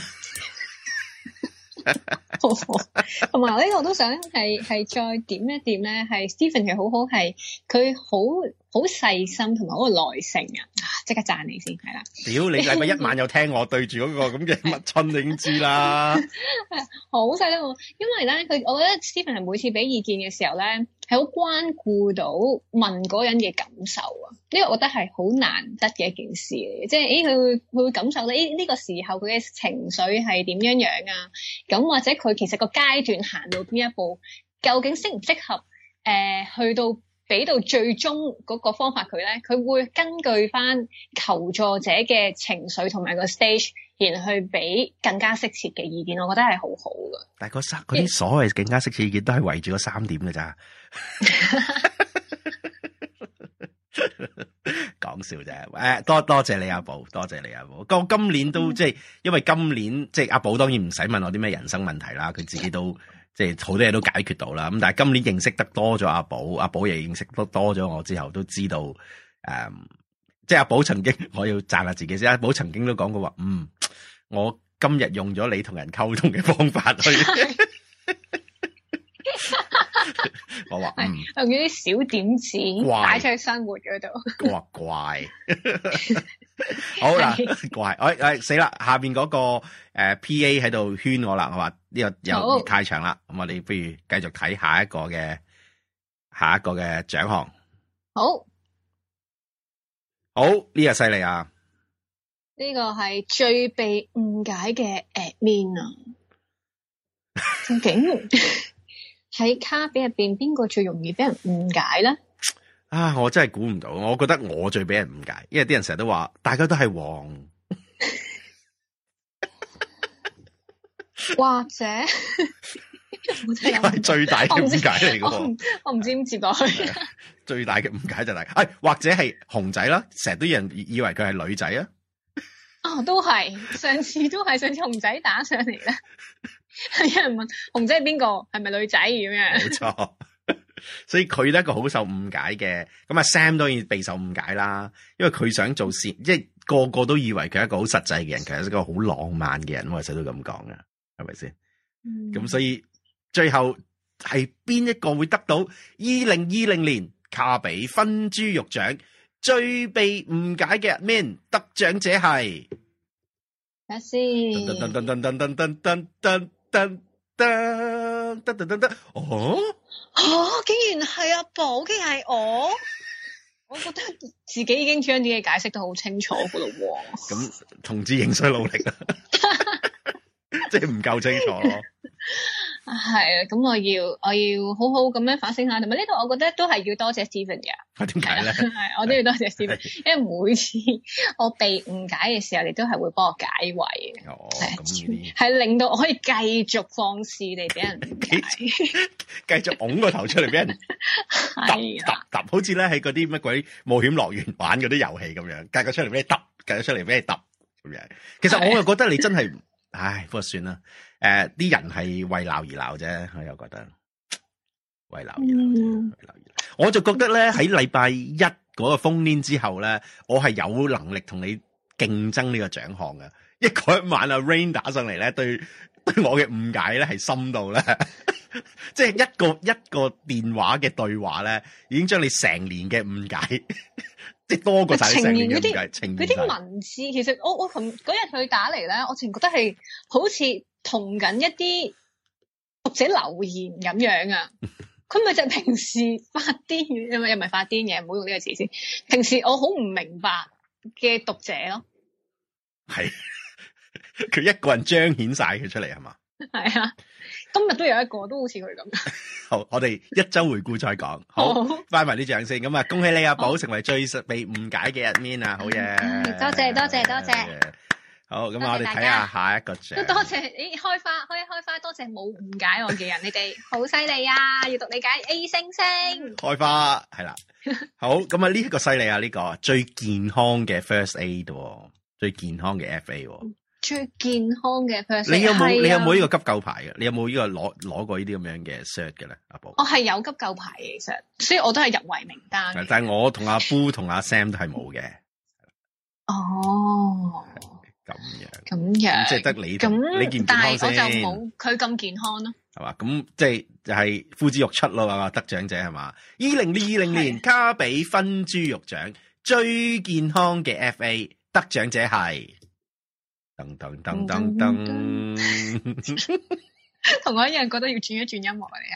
同埋呢個都想係再點一點咧，係 Stephen 係好好，係佢好細心同埋好有耐性啊！即刻讚你先，係啦。 屌你禮拜一晚有聽我對住嗰個咁嘅乜春，你已經知啦。 好細心喎，因為咧我覺得 Stephen 係每次俾意見嘅時候咧，係好關顧到問嗰人嘅感受啊！呢個我覺得係好難得嘅一件事嚟嘅，即係佢會感受到呢個時候佢嘅情緒係點樣啊？咁或者佢其實個階段行到邊一步，究竟適唔適合去到俾到最終嗰個方法佢咧？佢會根據翻求助者嘅情緒同埋個 stage，然後去俾更加適切嘅意見，我覺得係好好噶。 但係嗰啲所謂更加適切意見都係圍住嗰3點嘅咋。講笑啫，多謝你阿寶，多謝你阿寶。今年都即係，因為今年即係阿寶當然唔使問我啲咩人生問題啦，佢自己都即係好多嘢都解決到啦。咁但係今年認識得多咗阿寶，阿寶亦認識得多咗我之後，都知道即係阿寶曾經，我要讚下自己先。阿寶曾經都講過話，我今日用咗你同人溝通嘅方法去。我話用啲小點子擺出去生活嗰度。我話怪，好啦，怪，死啦！下邊嗰個PA 喺度圈我啦，我話呢個又太長啦，咁我哋不如繼續睇下一個嘅獎項。好，呢個犀利啊！ 呢個係最被誤解嘅 admin 啊，究竟喺卡比入邊邊個最容易俾人誤解咧？ 啊，我真係估唔到，我覺得我最俾人誤解，因為啲人成日都話大家都係黃， 或者呢個係最大嘅誤解嚟嘅。 我唔知點接落去。 最大嘅誤解就係，或者係熊仔啦，成日都有人以為佢係女仔啊。 都係，上次熊仔打上嚟咧。係有人問熊仔係邊個，係咪女仔咁樣？冇錯， 所以佢都係一個好受誤解嘅。咁啊 Sam 當然備受誤解啦，因為佢想做善，即係個個都以為佢係一個好實際嘅人，其實係一個好浪漫嘅人。我成日都咁講噶，係咪先？咁所以最後係邊一個會得到2020年卡比分豬肉獎最被誤解嘅 admin 得獎者係？ 睇下先。竟然係阿寶，竟然係我。我覺得自己已經將啲嘢解釋得好清楚噶咯喎。 咁同志仍需努力啊，即係唔夠清楚咯。 係啊，咁我要好好咁樣反省下，同埋呢度我覺得都係要多謝 Stephen 嘅。 點解咧？ 係，我都要多謝 Stephen，因為每次我被誤解嘅時候，你都係會幫我解圍嘅。 哦，咁係令到我可以繼續放肆地俾人誤解， 繼續拱個頭出嚟俾人揼，好似咧喺嗰啲乜鬼冒險樂園玩嗰啲遊戲咁樣，計個出嚟俾你揼，計個出嚟俾你揼咁樣。其實我又覺得你真係，不過算啦。啲人係為鬧而鬧啫，我又覺得為鬧而鬧。我就覺得咧，喺禮拜一嗰個烽煙之後咧，我係有能力同你競爭呢個獎項嘅。嗰一晚阿 Rain 打上嚟咧，對我嘅誤解咧係深到咧，即係一個電話嘅對話咧，已經將你成年嘅誤解，即係多過晒你成年嘅誤解。 嗰啲文字，其實我嗰日佢打嚟咧，我淨覺得係好似同緊一啲讀者留言咁樣啊！佢咪就係平時發癲嘅，又唔係發癲嘅，唔好用呢個詞先。平時我好唔明白嘅讀者咯， 係佢一個人彰顯晒佢出嚟係嘛？ 係啊，今日都有一個都好似佢咁。 好，我哋一周回顧再講。好，翻埋啲獎先。咁啊，恭喜你阿寶成為最被誤解嘅 admin啊！好嘢， 多謝。 好，咁我哋睇下下一個獎。 都多謝，開花，多謝冇誤解我嘅人，你哋好犀利啊！閱讀理解 A 星星。開花係啦，好，咁啊呢一個犀利啊，呢個最健康嘅 First Aid， 最健康嘅 FA。 最健康嘅 First Aid。 你有冇呢個急救牌嘅？你有冇呢個攞過呢啲咁樣嘅 cert 嘅咧？阿寶， 我係有急救牌嘅，其實，所以我都係入圍名單。 但係我同阿 Boo 同阿 Sam 都係冇嘅。 哦。咁樣， 即係得你健唔健康先？但係我就冇佢咁健康咯， 係嘛？咁即係就係呼之欲出咯，係嘛？得獎者係嘛？2020年卡比分豬肉獎最健康嘅 FA 得獎者係噔， 同我一樣覺得要轉一轉音樂啊！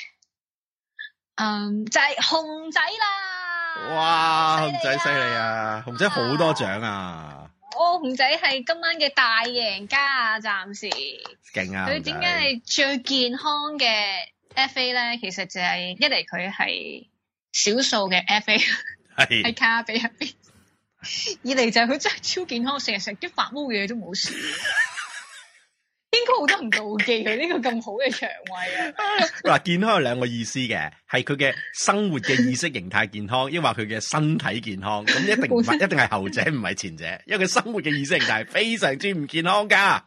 你係，就係熊仔啦！ 哇，熊仔犀利啊！熊仔好多獎啊！ 熊仔係今晚嘅大贏家啊！暫時勁啊！ 佢點解係最健康嘅 FA 咧？其實就係一嚟佢係少數嘅 FA 喺卡比入邊，二嚟就係佢真係超健康，成日食啲發毛嘢都冇事。應該好多人妒忌佢呢個咁好嘅腸胃啊！ 嗱，健康有兩個意思嘅，係佢嘅生活嘅意識形態健康，抑或佢嘅身體健康。咁一定唔係，一定係後者，唔係前者。因為佢生活嘅意識形態係非常之唔健康噶。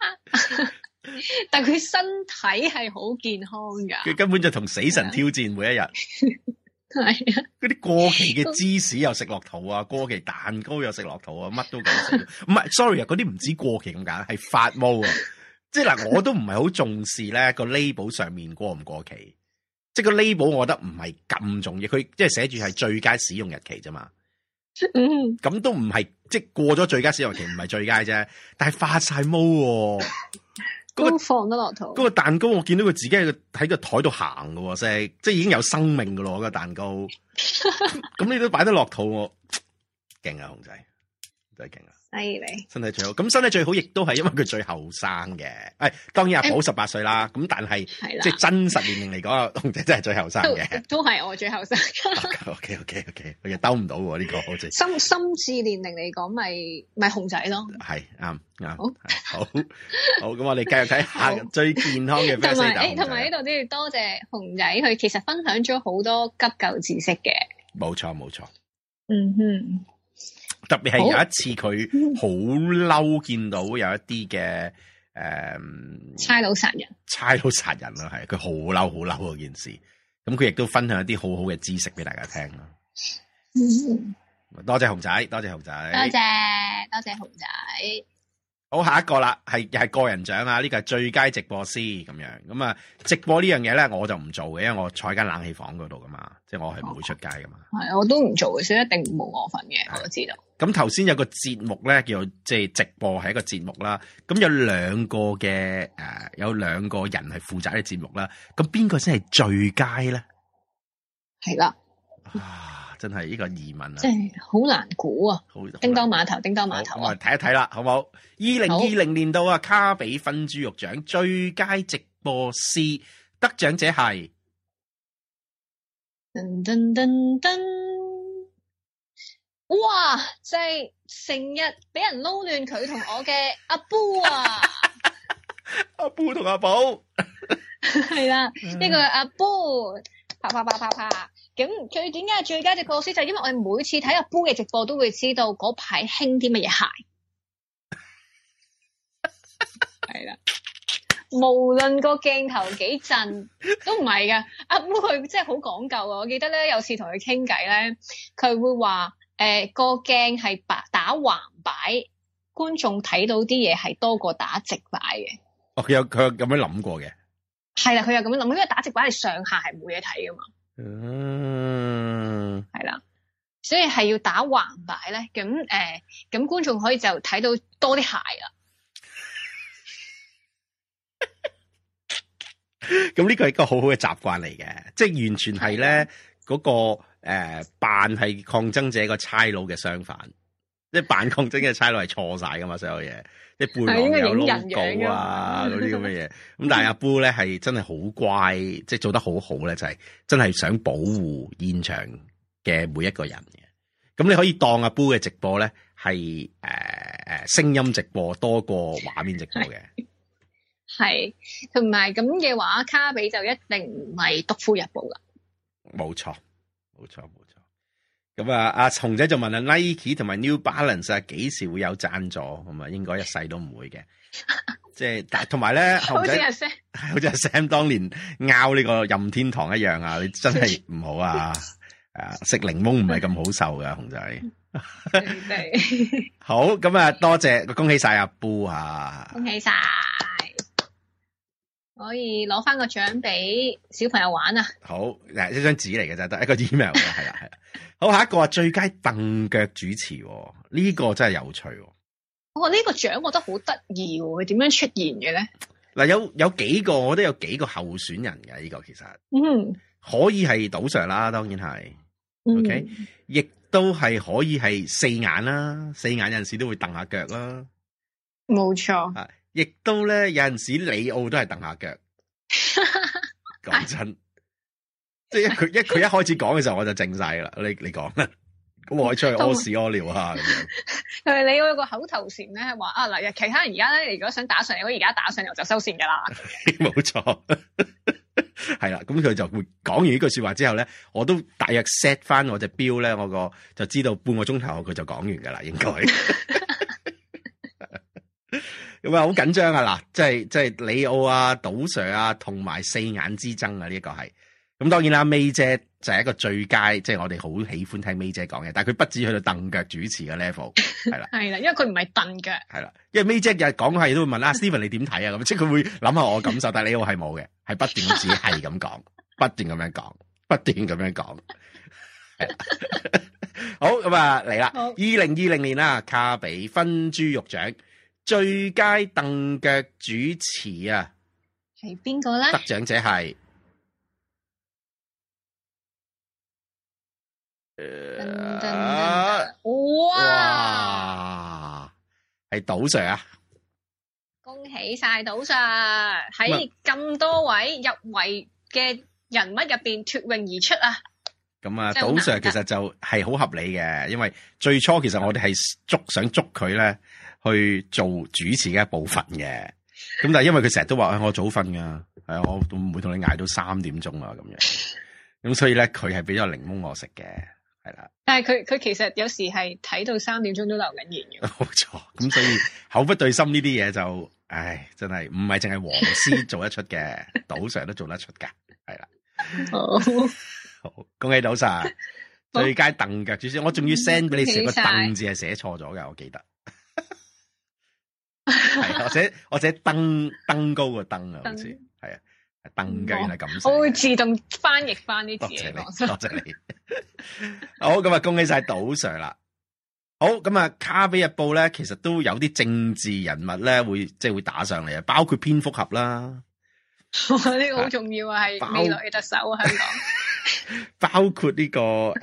但係佢身體係好健康噶。佢根本就同死神挑戰每一日。 係啊！ 嗰啲過期嘅芝士又食落肚啊，過期蛋糕又食落肚啊，乜都搞死。唔係，sorry 啊，嗰啲唔止過期咁簡單，係發毛啊！即係嗱，我都唔係好重視咧個 label 上面過唔過期，即係個 label 我覺得唔係咁重要，佢即係寫住係最佳使用日期啫嘛。咁都唔係，即係過咗最佳使用日期唔係最佳啫，但係發晒毛喎。 都放得落肚。嗰個蛋糕我見到佢自己喺個台度行嘅，即係已經有生命嘅咯，嗰個蛋糕。咁你都擺得落肚，我勁啊，熊仔真係勁啊！ 犀利， 身體最好。咁身體最好，亦都係因為佢最後生嘅。當然阿寶18歲啦。咁但係即係真實年齡嚟講，熊仔真係最後生嘅。都係我最後生。OK，佢又兜唔到喎呢個，好似心智年齡嚟講，咪熊仔咯。係啱。好。咁我哋繼續睇下最健康嘅 First Aid。 同埋呢度都要多謝熊仔，佢其實分享咗好多急救知識嘅。冇錯。 嗯哼。特別係有一次佢好嬲，見到有一啲嘅差佬殺人咯，係佢好嬲嗰件事。咁佢亦都分享一啲好好嘅知識俾大家聽咯。多謝熊仔，多謝熊仔。好，下一個啦，係個人獎啊！呢個係最佳直播師咁樣。咁啊，直播呢樣嘢咧，我就唔做嘅，因為我坐喺間冷氣房嗰度噶嘛，即係我係唔會出街噶嘛。 係，我都唔做嘅，所以一定冇我份嘅，我都知道。 咁頭先有個節目咧，叫即係直播係一個節目啦。咁有兩個人係負責呢個節目啦。咁邊個先係最佳咧？係啦。真係呢個疑問啊！ 即係好難估啊！叮當碼頭啊！ 我哋睇一睇啦，好唔好？2020年度啊，卡比分豬肉獎最佳直播師得獎者係噔噔噔噔！哇！就係成日俾人撈亂佢同我嘅阿 Boo 啊！ 阿 Boo 同阿寶係啦，呢個阿 Boo 啪。咁佢點解係最佳直播師？就係因為我哋每次睇阿 Boo 嘅直播都會知道嗰排興啲乜嘢鞋。係啦，無論個鏡頭幾震都唔係噶。阿 Boo 佢真係好講究啊！我記得咧有次同佢傾偈咧，佢會話個鏡係打橫擺，觀眾睇到啲嘢係多過打直擺嘅。 哦，佢有咁樣諗過嘅。係啦，佢有咁樣諗，因為打直擺係上下係冇嘢睇噶嘛。係啦，所以係要打橫擺咧，咁觀眾可以就睇到多啲鞋啦。 咁呢個係一個好好嘅習慣嚟嘅，即係完全係咧嗰個扮係抗爭者個差佬嘅相反， 即係辦抗爭嘅差佬係錯晒噶嘛，所有嘢，即係背囊有 logo 啊嗰啲咁嘅嘢。咁但係阿 Boo 咧係真係好乖，即係做得好好咧，就係真係想保護現場嘅每一個人嘅。咁你可以當阿 Boo 嘅直播咧係聲音直播多過畫面直播嘅。 係，同埋咁嘅話，卡比就一定唔係獨夫日報噶。 冇錯。咁啊，阿熊仔就問啊 Nike 同埋 New Balance 啊，幾時會有贊助？咁啊，應該一世都唔會嘅。即係，但同埋咧，熊仔好似阿 Sam 當年拗呢個任天堂一樣啊！你真係唔好啊！食檸檬唔係咁好受噶，熊仔。好，咁啊，多謝，恭喜晒阿 Boo 啊！ 恭喜晒，可以攞翻個獎俾小朋友玩啊！ 好，嗱，一張紙嚟嘅啫，得一個 email 嘅，係啦。好，下一個最佳凳腳主持，呢個真係有趣。呢個獎我覺得好得意，佢點樣出現嘅咧？ 嗱，有幾個，我覺得有幾個候選人嘅呢個其實，可以係賭 Sir 啦，當然係，OK，亦都係可以係四眼啦，四眼有陣時都會蹬下腳啦， 冇錯， 啊，亦都咧有陣時李奧都係蹬下腳，講真。即係佢一開始講嘅時候我就靜晒啦，你講啦，咁我可以出去屙屎屙尿啊咁樣。 係你有個口頭禪咧，係話啊嗱，其他人而家咧，如果想打上嚟，我而家打上嚟就收線噶啦。 冇錯，係啦，咁佢就會講完呢句說話之後咧，我都大約 set 翻我隻錶咧，我個就知道半個鐘頭佢就講完噶啦，應該。咁啊，好緊張啊！嗱，即係李奧啊、賭 Sir 啊，同埋四眼之爭啊，呢一個係。咁當然啦，May 姐就係一個最佳，即係我哋好喜歡聽 May 姐講嘅，但係佢不止去到凳腳主持嘅 level， 係啦，係啦， 因為佢唔係凳腳，係啦，因為 May 姐日講係都會問啊，Steven 你點睇啊？咁即係佢會諗下我感受，但係李奧係冇嘅，係不斷咁自己係咁講，不斷咁樣講，不斷咁樣講，係啦。好，咁啊嚟啦，2020年啊，卡比分豬肉獎最佳凳腳主持啊， 係邊個咧？ 得獎者係。哇！係賭 Sir 啊！ 恭喜晒賭 Sir 喺咁多位入圍嘅人物入邊脫穎而出啊！ 咁啊，賭 Sir 其實就係好合理嘅，因為最初其實我哋係想捉佢咧去做主持嘅一部分嘅。咁但係因為佢成日都話我早瞓噶，係啊，我唔會同你捱到3點鐘啊咁樣。咁所以咧，佢係俾咗檸檬我食嘅。係啦， 但係佢其實有時係睇到3點鐘都留緊言嘅。 冇錯，咁所以口不對心呢啲嘢就，唉，真係唔係淨係黃絲做得出嘅，賭 Sir 都做得出噶，係啦。好，恭喜賭 Sir，最佳凳腳主持，我仲要 send 俾你寫個凳字係寫錯咗嘅，我記得。係，我寫登高個登啊，好似係啊。凳腳原來咁寫， 我會自動翻譯翻啲字嚟講。 多謝你。好，咁啊，恭喜晒賭 Sir 啦。好，咁啊，卡比日報咧，其實都有啲政治人物咧，會打上嚟啊，包括蝙蝠俠啦。呢個好重要啊，係未來嘅特首啊，香港。 包括呢個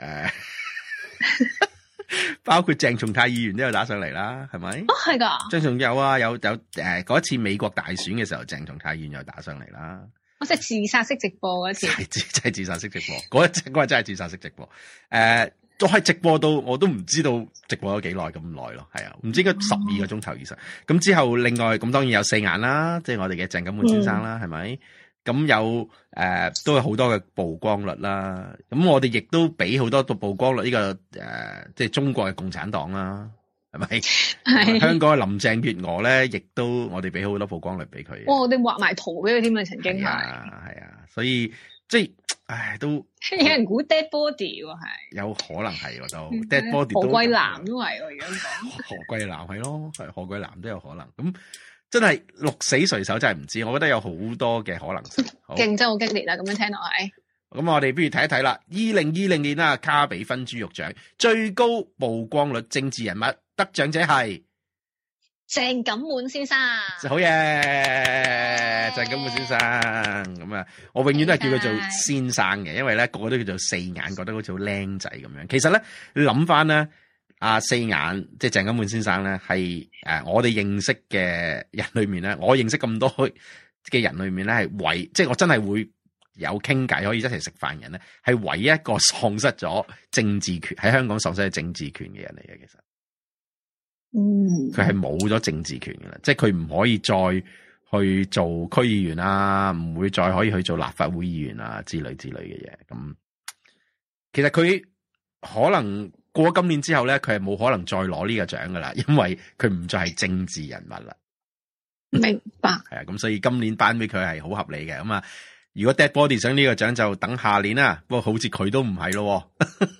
包括鄭松泰議員都有打上嚟啦，係咪？ 哦，係噶。鄭松有啊，有嗰一次美國大選嘅時候，鄭松泰議員又打上嚟啦。 我即係自殺式直播嗰次， 真係自殺式直播，嗰日真係自殺式直播。都係直播到我都唔知道直播咗幾耐咁耐咯，係啊，唔知應該12個鐘頭以上。咁之後另外咁當然有四眼啦，即係我哋嘅鄭錦滿先生啦，係咪？咁有都有好多嘅曝光率啦。咁我哋亦都俾好多曝光率呢個即係中國嘅共產黨啦。係咪？係香港嘅林鄭月娥咧，亦都我哋俾好多曝光率俾佢。 我哋畫埋圖俾佢添啊，曾經係。係啊，所以即係，唉，都有人估 dead body 喎，係。有可能係喎，都 dead body 都。 何桂藍都係喎，而家講。 何桂藍係咯，係何桂藍都有可能。咁真係鹿死誰手真係唔知，我覺得有好多嘅可能性。 競爭好激烈啦，咁樣聽落係。 咁我哋不如睇一睇啦。2020年啦，卡比分豬肉獎最高曝光率政治人物。得獎者係鄭錦滿先生， 好嘢，鄭錦滿先生。咁啊，我永遠都係叫佢做先生嘅，因為咧個個都叫做四眼，覺得好似好僆仔咁樣。其實咧，你諗翻咧， 四眼即係鄭金滿先生咧，係我哋認識嘅人裏面咧，我認識咁多嘅人裏面咧，係即係我真係會有傾偈可以一齊食飯嘅人咧，係唯一一個喪失咗政治權喺香港喪失咗政治權嘅人嚟嘅。其實，佢係冇咗政治權嘅啦，即係佢唔可以再去做區議員啦，唔會再可以去做立法會議員啊之類嘅嘢。咁其實佢可能過咗今年之後咧，佢係冇可能再攞呢個獎噶啦，因為佢唔再係政治人物啦。 明白。係啊，咁所以今年頒俾佢係好合理嘅。咁啊，如果 Dead Body 想呢個獎就等下年啦。不過好似佢都唔係咯，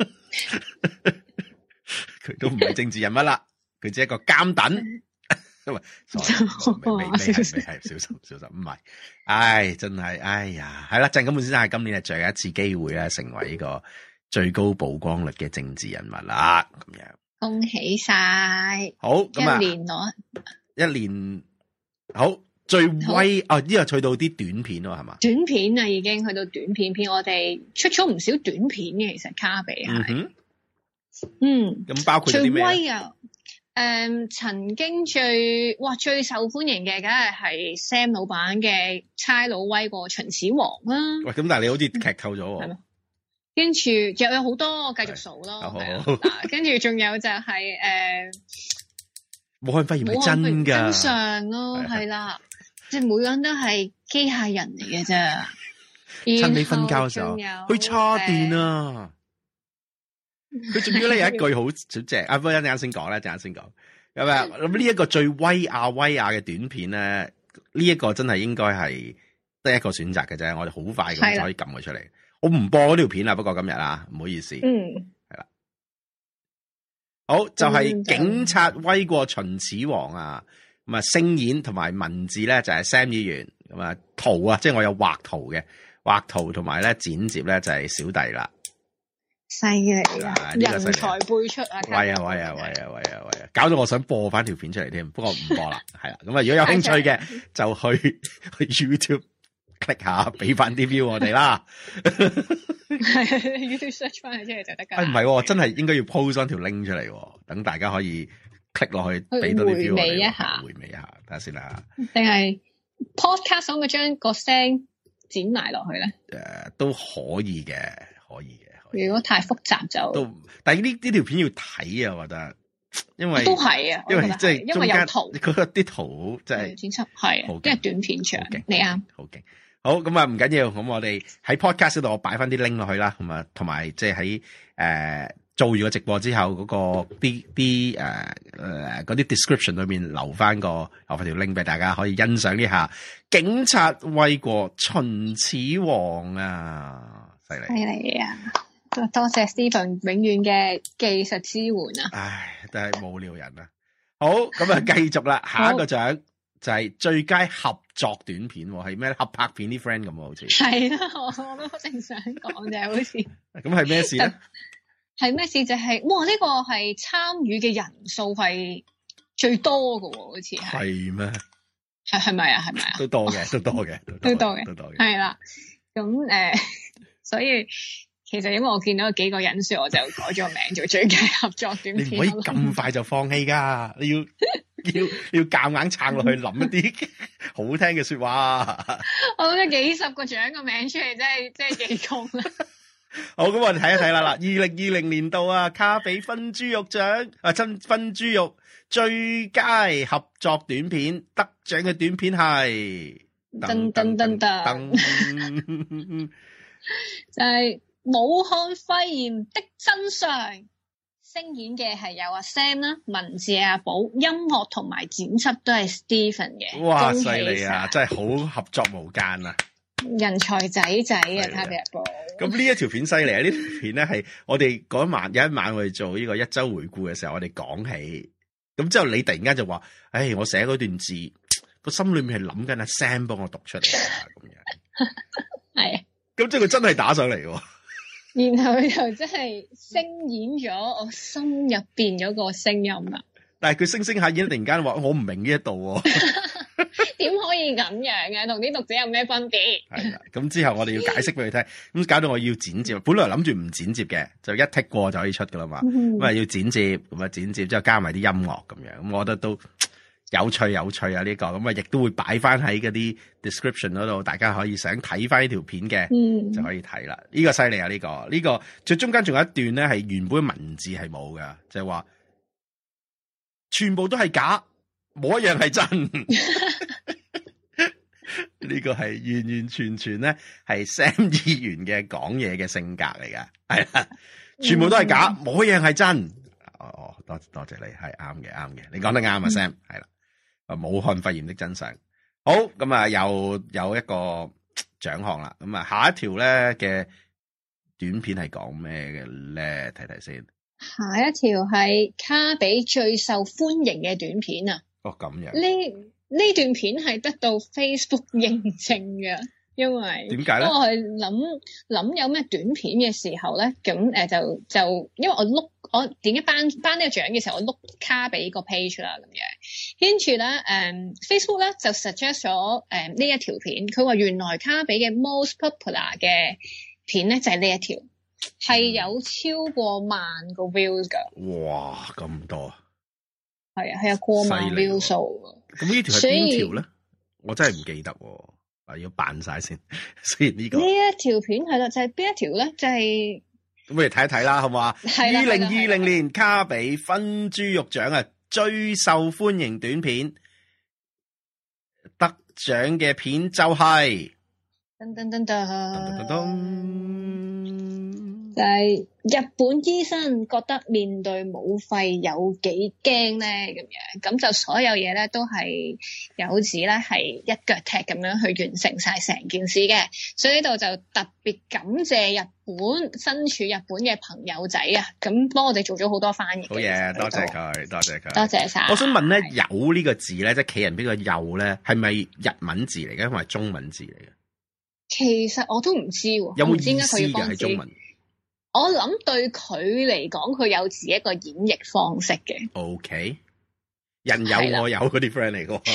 佢都唔係政治人物啦，佢只係一個監躉。因為未係小心，唔係，唉，真係，哎呀，係啦，鄭金滿先生係今年係最後一次機會咧，成為呢個最高曝光率嘅政治人物啦，咁樣， 恭喜晒， 好，咁啊，一年，好，最威哦，呢個去到啲短片咯，係嘛？ 短片啊，已經去到短片，我哋出咗唔少短片嘅，其實卡比係， 咁包括啲咩？ 最威啊！曾經最受歡迎嘅，梗係 Sam 老闆嘅差佬威過秦始皇啦。 喂，咁但係你好似劇透咗喎。 跟住又有好多繼續數咯。跟住仲有就係武漢肺炎係真㗎， 真相咯，係啦，即係每個人都係機械人嚟嘅啫。 趁你瞓覺嘅時候去叉電啊！佢仲要咧有一句好正，不過一陣間先講咧，陣間先講。咁啊，咁呢一個最威亞嘅短片咧，呢一個真係應該係得一個選擇嘅啫。我哋好快咁就可以撳佢出嚟。我唔播嗰條片啦，不過今日啊，唔好意思。係啦。好，就係警察威過秦始皇啊！咁啊，聲演同埋文字咧就係 Sam 議員。咁啊，圖啊，即係我有畫圖嘅，畫圖同埋咧剪接咧就係小弟啦。 犀利啊！人才輩出啊！ 喂啊！搞到我想播翻條片出嚟添，不過唔播啦。係啦，咁啊，如果有興趣嘅就去 YouTube click 下，俾翻啲 view 我哋啦。 YouTube search 翻佢出嚟就得噶。 唔係，真係應該要 post 翻條 link 出嚟，等大家可以 click 落去，俾多啲 view 我哋。回味一下，睇下先啦。定係 podcast 可唔可以將個聲剪埋落去咧？ 都可以嘅，可以嘅。 如果太複雜就， 但係呢條片要睇啊，我覺得，因為都係啊， 因為即係因為有圖， 佢啲圖即係剪輯係，因為短片長，你啱， 好勁，好咁啊，唔緊要，咁我哋喺 podcast 度我擺翻啲 link 落去啦，咁啊，同埋即係喺做完個直播之後嗰個啲嗰啲 description 裏面留翻條 link 俾大家可以欣賞呢下警察威過秦始皇啊，犀利啊！ 多謝 Stephen 永遠嘅技術支援啊！ 唉，真係無聊人啊！好，咁啊，繼續啦，下一個獎就係最佳合作短片，係咩？合拍片啲 friend 咁好似係啦，我都正想講就係好似咁係咩事咧？ 係咩事？就係哇！呢個係參與嘅人數係最多㗎喎，好似係咩？ 係咪啊？ 都多嘅，都多嘅， 係啦。咁所以。其實因為我見到幾個人數，我就改咗個名做最佳合作短片。你唔可以咁快就放棄噶，你要夾硬撐落去，諗一啲好聽嘅說話。 我諗咗幾十個獎個名出嚟，真係幾功啦。 好，咁我哋睇一睇啦。2020年度啊，卡比分豬肉獎啊，分豬肉最佳合作短片得獎嘅短片係噔噔噔噔，就係。武漢肺炎的真相，聲演嘅係有阿 Sam 啦，文字阿寶，音樂同埋剪輯都係 Stephen 嘅。 哇，犀利啊！真係好合作無間啊！ 人才仔啊，卡比阿寶。 咁呢一條片犀利啊！呢條片咧係我哋嗰有一晚我哋做呢個一周回顧嘅時候，我哋講起，咁之後你突然間就話，唉，我寫嗰段字個心裏面係諗緊阿 Sam 幫我讀出嚟啊，咁樣。係。咁即係佢真係打上嚟喎。 然後就真係聲演咗我心入邊嗰個聲音啦。 但係佢聲下演突然間話我唔明呢一度喎。 點可以咁樣嘅？同啲讀者有咩分別？ 係啦，咁之後我哋要解釋俾佢聽，咁搞到我要剪接，本來諗住唔剪接嘅，就一剔過就可以出噶啦嘛。咁啊要剪接，咁啊剪接之後加埋啲音樂咁樣，咁我覺得都有趣啊呢個，咁啊亦都會擺翻喺嗰啲 description 嗰度，大家可以想睇翻呢條片嘅，就可以睇啦。呢個犀利啊！呢個最中間仲有一段咧係原本文字係冇噶，就係話全部都係假，冇一樣係真。呢個係完完全全咧係 Sam 議員嘅講嘢嘅性格嚟噶，係啦，全部都係假，冇一樣係真。哦，多謝你，係啱嘅，你講得啱啊 ，Sam， 係啦。武漢肺炎的真相。好，咁啊，又有一個獎項啦。咁啊，下一條咧嘅短片係講咩嘅咧？睇睇先。 下一條係卡比最受歡迎嘅短片啊。 哦，咁樣。 呢段片係得到 Facebook 認證嘅，因為點解咧？ 當我去諗有咩短片嘅時候咧，咁就因為我點解頒呢個獎嘅時候，我碌卡比個 page 啦咁樣，跟住咧Facebook 咧就 suggest 咗呢一條片，佢話原來卡比嘅 most popular 嘅片咧就係呢一條，係有超過萬個 views 噶。哇， 咁多！ 係有過萬 view 數。 咁呢條係邊條咧？我真係唔記得喎，要扮晒先。雖然呢一條片係啦，就係邊一條咧？就係咁，我哋睇一睇啦，好唔好啊？2020年卡比分豬肉獎啊，最受歡迎短片得獎嘅片就係噔噔噔噔。就係日本醫生覺得面對武肺有幾驚咧，咁樣咁就所有嘢咧都係有指咧係一腳踢咁樣去完成晒成件事嘅，所以呢度就特別感謝日本身處日本嘅朋友仔啊，咁幫我哋做咗好多翻譯。好嘢， 多謝佢，多謝佢， 多謝晒。 我想問咧，有呢個字咧，即係企人邊個有咧，係咪日文字嚟嘅，定係中文字嚟嘅？ 其實我都唔知喎， 有冇意思嘅係中文？ 我諗對佢嚟講，佢有自己一個演繹方式嘅。 OK， 人有我有嗰啲 friend 嚟嘅。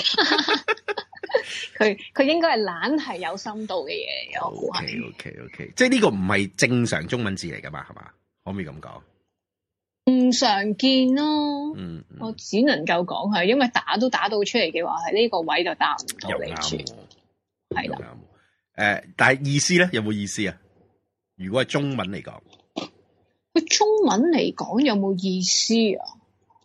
佢應該係懶係有深度嘅嘢。 OK， 即係呢個唔係正常中文字嚟噶嘛？係嘛？可唔可以咁講？ 唔常見咯。我只能夠講係，因為打都打到出嚟嘅話，係呢個位就答唔到你住。係啦。 但係意思咧，有冇意思啊？如果係中文嚟講。 佢中文嚟講有冇意思啊？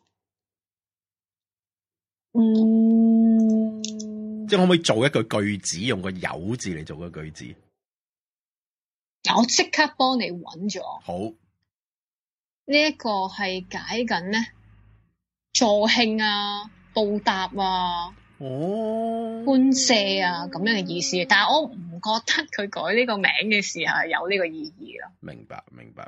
即係可唔可以做一句句子，用個有字嚟做個句子？ 我即刻幫你揾咗。 好， 呢一個係解緊咧助興啊、報答啊、歡謝啊咁樣嘅意思，但係我唔覺得佢改呢個名嘅時候係有呢個意義咯。 明白。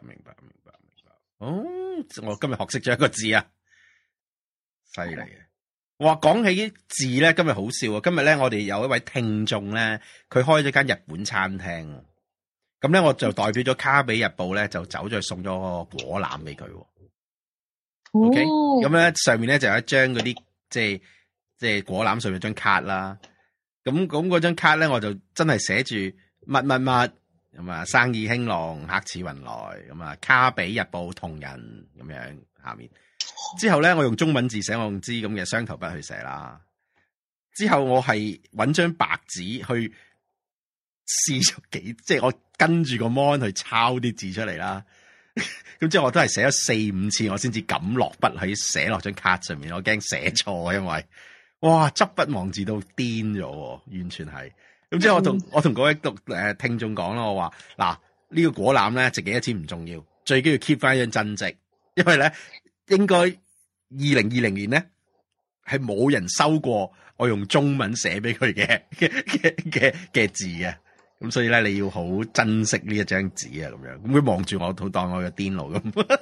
我今日學識咗一個字啊，犀利嘅。哇，講起字咧，今日好笑啊！今日咧，我哋有一位聽眾咧，佢開咗間日本餐廳，咁咧我就代表咗卡比日報咧，就走咗去送咗個果籃俾佢。OK，咁咧上面咧就有一張嗰啲即係果籃上面有張卡啦。咁嗰張卡咧，我就真係寫住乜乜乜。咁啊，生意興隆，客似雲來，咁啊，卡比日報同人咁樣下面。之後咧，我用中文字寫，我用支咁嘅雙頭筆去寫啦。之後我係搵張白紙去試咗即係我跟住個 mon 去抄啲字出嚟啦。咁之後我都係寫咗4-5次，我先至敢落筆喺寫落張卡上面。我驚寫錯，因為哇，執筆忘字到癲咗，完全係。咁之後我同嗰位聽眾講啦，我話嗱，呢個果籃咧值幾多錢唔重要，最緊要 keep 翻一張真跡，因為咧應該2020年咧係冇人收過我用中文寫俾佢嘅字嘅，咁所以咧你要好珍惜呢一張紙啊，咁樣，咁佢望住我，好當我嘅癲佬咁，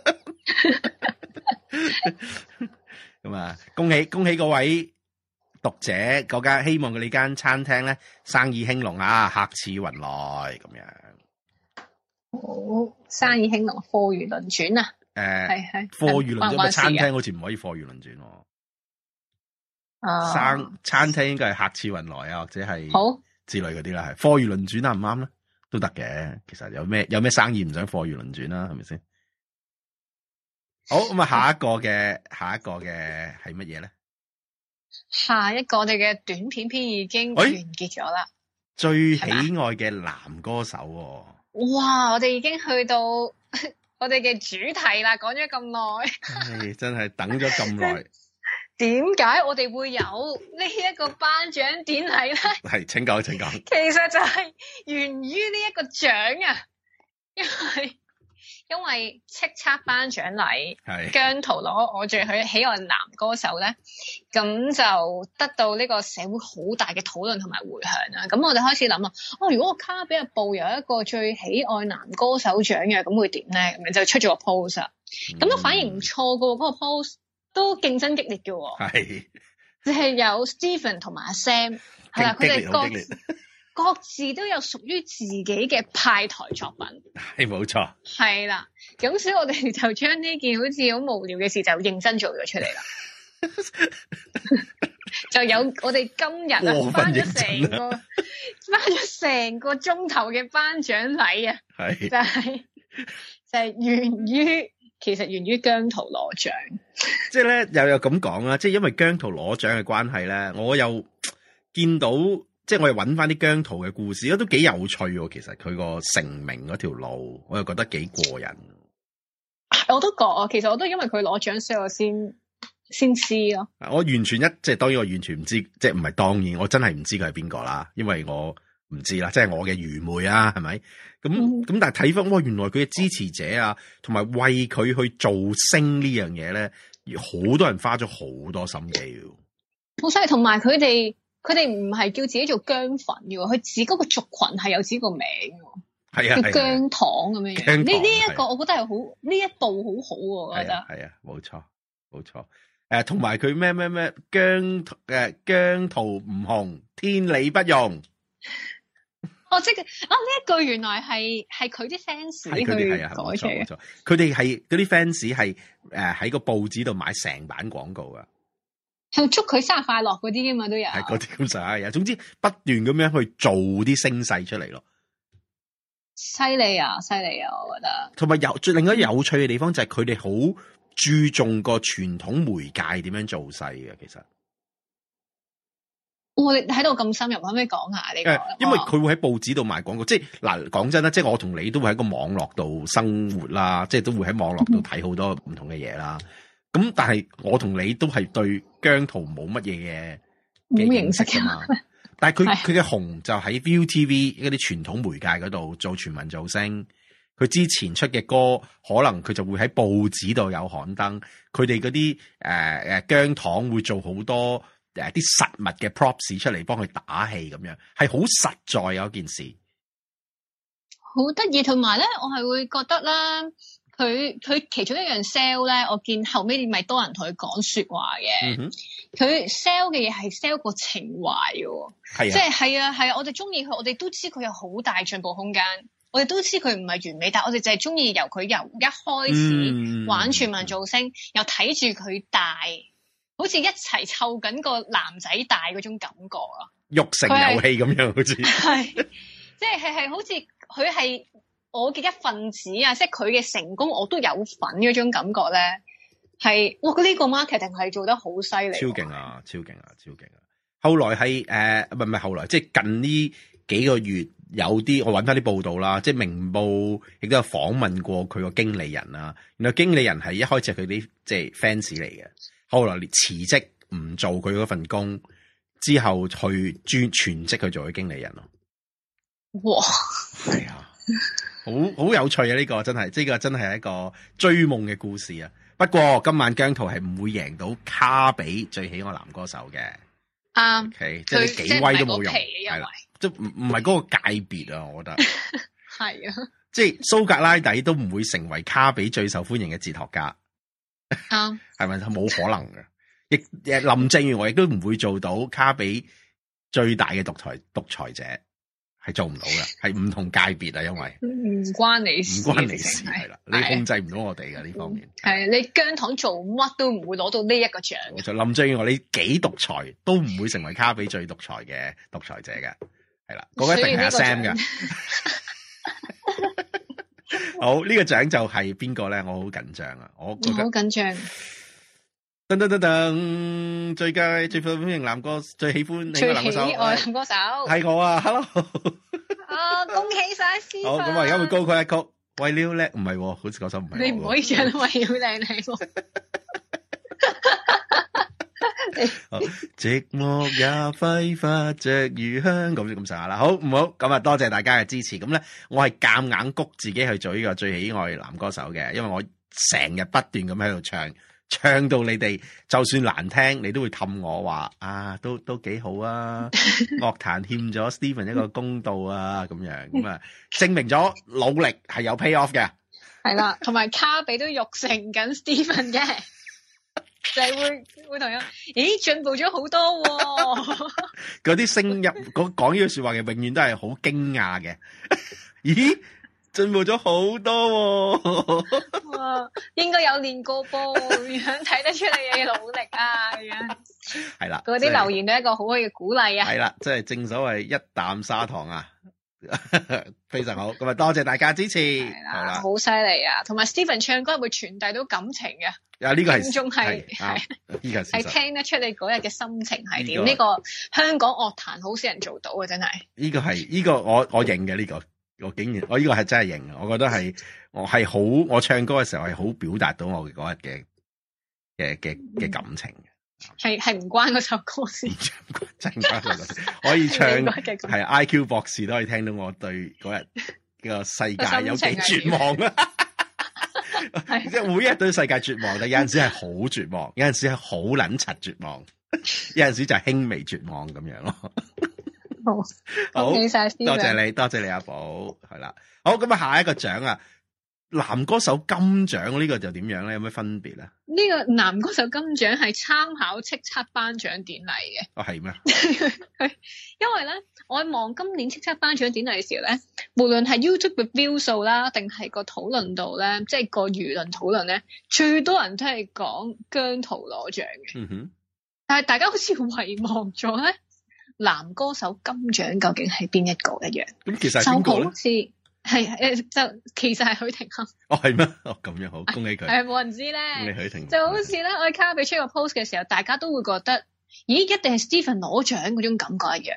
咁啊，恭喜各位讀者嗰間，希望佢呢間餐廳咧生意興隆啊，客似雲來咁樣。 好，生意興隆，貨如輪轉啊！係貨如輪轉，餐廳好似唔可以貨如輪轉喎。 餐廳應該係客似雲來啊，或者係好之類嗰啲啦，係貨如輪轉啱唔啱咧？都得嘅。其實有咩生意唔想貨如輪轉啦，係咪先？好，咁啊，下一個嘅係乜嘢咧？ 下一個我哋嘅短片篇已經完結咗啦。 最喜愛嘅男歌手哇！我哋已經去到我哋嘅主題啦，講咗咁耐， 真係等咗咁耐。 點解我哋會有呢一個頒獎典禮咧？ 係，請講。其實就係源於呢一個獎啊，因為叱咤頒獎禮，姜濤攞我最喜愛男歌手咧，咁就得到呢個社會好大嘅討論同埋回響啦。咁我哋開始諗啊，如果個卡比日報有一個最喜愛男歌手獎嘅，咁會點咧？咁就出咗個 post 啊，咁都反而唔錯噶，嗰個 post 都競爭激烈嘅。係，就係有 Stephen 同埋阿 Sam， 係啦，佢哋各自都有屬於自己嘅派台作品， 係冇錯， 係啦。咁所以我哋就將呢件好似好無聊嘅事就認真做咗出嚟啦。就有我哋今日頒咗成個鐘頭嘅頒獎禮啊，就係源於姜濤攞獎。 即係咧又有咁講啦，即係因為姜濤攞獎嘅關係咧，我又見到。即係我又揾翻啲姜濤嘅故事，都幾有趣喎。其實佢個成名嗰條路，我又覺得幾過癮。 我都覺啊，其實我都因為佢攞獎，所以我先知咯。 我完全即係當然，我完全唔知，即係唔係當然，我真係唔知佢係邊個啦，因為我唔知啦，即係我嘅愚昧啊，係咪？咁但係睇翻，原來佢嘅支持者啊，同埋為佢去造星呢樣嘢咧，好多人花咗好多心機。 好犀利，同埋佢哋唔係叫自己做姜粉嘅，佢自己嗰個族群係有自己個名嘅，叫姜糖咁樣樣。呢一個我覺得係好，呢一步好好喎，我覺得。係啊，冇錯。 同埋佢咩姜濤唔紅，天理不容。 即係呢一句原來係佢啲 fans 去改出嘅。 佢哋係嗰啲 fans 係喺個報紙度買成版廣告噶。 係祝佢生日快樂嗰啲噶嘛，都有係嗰啲咁上下嘢。總之不斷咁樣去做啲聲勢出嚟咯。 犀利啊，我覺得。同埋另外有趣嘅地方就係佢哋好注重個傳統媒介點樣做勢嘅。其實我哋喺度咁深入，可唔可以講下呢個？ 因為佢會喺報紙度賣廣告，即係嗱講真啦，即係我同你都會喺個網絡度生活啦，即係都會喺網絡度睇好多唔同嘅嘢啦。咁但係我同你都係對姜濤冇乜嘢嘅認識噶嘛，但係佢嘅紅就喺 ViuTV 嗰啲傳統媒介嗰度做全民造星，佢之前出嘅歌可能佢就會喺報紙度有刊登，佢哋嗰啲姜糖會做好多啲實物嘅 props 出嚟幫佢打氣咁樣，係好實在有一件事， 好得意。同埋咧，我係會覺得啦。佢其中一樣 sell 咧，我見後尾咪多人同佢講說話嘅。佢 sell 嘅嘢係 sell 個情懷嘅，即係係啊，我哋中意佢，我哋都知佢有好大進步空間，我哋都知佢唔係完美，但係我哋就係中意由佢由一開始玩全民造星，又睇住佢大，好似一齊湊緊個男仔大嗰種感覺啊！育成遊戲咁樣，好似係，即係好似佢係我嘅一份子啊！即係佢嘅成功，我都有份嗰種感覺咧，係哇！呢個 marketing 係做得好犀利，超勁啊！超勁啊！超勁啊！後來係唔係後來，即係近呢幾個月有啲我揾翻啲報道啦，即係明報亦都有訪問過佢個經理人啦。原來經理人係一開始係佢啲即係 fans 嚟嘅，後來辭職唔做佢嗰份工，之後去全職去做佢經理人咯。哇！係啊！好有趣啊！呢個真係，呢個真係一個追夢嘅故事啊！不過今晚姜濤係唔會贏到卡比最喜愛男歌手嘅。啱，okay，即係你幾威都冇用，係啦，即係唔係嗰個界別啊！我覺得係啊，即係蘇格拉底都唔會成為卡比最受歡迎嘅哲學家。啱，係咪冇可能嘅？亦林鄭月娥亦都唔會做到卡比最大嘅獨裁者。 係做唔到嘅，係唔同界別啊，因為唔關你事， 唔關你事係啦，你控制唔到我哋嘅呢方面。 係你姜糖做乜都唔會攞到呢一個獎。 就林鄭月娥你幾獨裁都唔會成為卡比最獨裁嘅獨裁者嘅，係啦，嗰個一定係阿 Sam 嘅。好，呢個獎就係邊個咧？我好緊張啊！我覺得好緊張。 噔噔噔噔，最佳最受歡迎男歌最喜歡最喜愛男歌手係我啊 ！Hello， 恭喜晒 Stephen。 好，咁我而家會高佢一曲。為了叻，唔係，好似嗰首唔係。 你唔可以唱為了靚靚。 寂寞也揮發着餘香，咁上下啦。好唔好？咁啊，多謝大家嘅支持。咁咧，我係夾硬谷自己去做呢個最喜愛男歌手嘅，因為我成日不斷咁喺度唱到你哋就算難聽，你都會氹我話啊，都幾好啊。樂壇欠咗 Stephen 一個公道啊，咁樣咁啊，證明咗努力係有 pay off 嘅。係啦，同埋卡比都育成緊 Stephen 嘅。就係會同樣，咦，進步咗好多喎！ 嗰啲聲音講呢句說話嘅，永遠都係好驚訝嘅。咦，進步咗好多喎！ 哇，應該有練過噃，樣睇得出你嘅努力啊！ 係啦， 嗰啲留言都係一個好好嘅鼓勵啊！ 係啦，即係正所謂一啖砂糖啊！非常好，咁啊多謝大家支持，係啦， 好犀利啊！同埋 Stephen 唱歌會傳遞到感情嘅， 啊呢個係仲係呢個係聽得出你嗰日嘅心情係點？呢個香港樂壇好少人做到嘅，真係。呢個我認嘅呢個，我竟然我呢個係真係認，我覺得係我係好，我唱歌嘅時候係好表達到我嗰日嘅感情嘅。 係唔關嗰首歌事， 真關嗰首歌，可以唱係 IQ 博士都可以聽到我對嗰日個世界有幾絕望啊！即係每日對世界絕望，但有陣時係好絕望，有陣時係好撚柒絕望，有陣時就係輕微絕望咁樣咯。好，多謝你阿寶，係啦。好，咁啊下一個獎啊！男歌手金獎呢個就點樣咧？有咩分別咧？ 呢個男歌手金獎係參考叱咤頒獎典禮嘅。 哦，係咩？ 因為咧，我望今年叱咤頒獎典禮嘅時候咧，無論係 YouTube 嘅 view 數啦，定係個討論度咧，即係個輿論討論咧，最多人都係講姜濤攞獎嘅。 嗯哼。 但係大家好似遺忘咗咧，男歌手金獎究竟係邊一個一樣？ 咁其實係邊個咧？ 就好似係就其實係許廷鏗。 哦，係咩？哦，咁樣好，恭喜佢。 係冇人知咧。 恭喜許廷鏗。 就好似咧，我喺卡比出個 post 嘅時候，大家都會覺得，咦，一定係 Stephen 攞獎嗰種感覺一樣。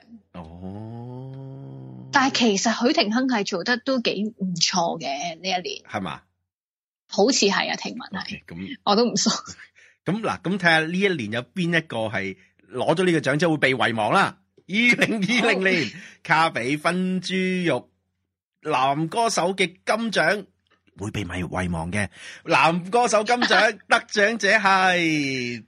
哦。 但係其實許廷鏗係做得都幾唔錯嘅呢一年。 係嘛？ 好似係啊，聽聞係。 咁我都唔熟。 咁嗱，咁睇下呢一年有邊一個係攞咗呢個獎之後會被遺忘啦？2020年卡比分豬肉男歌手嘅金獎會被遺忘嘅男歌手金獎得獎者係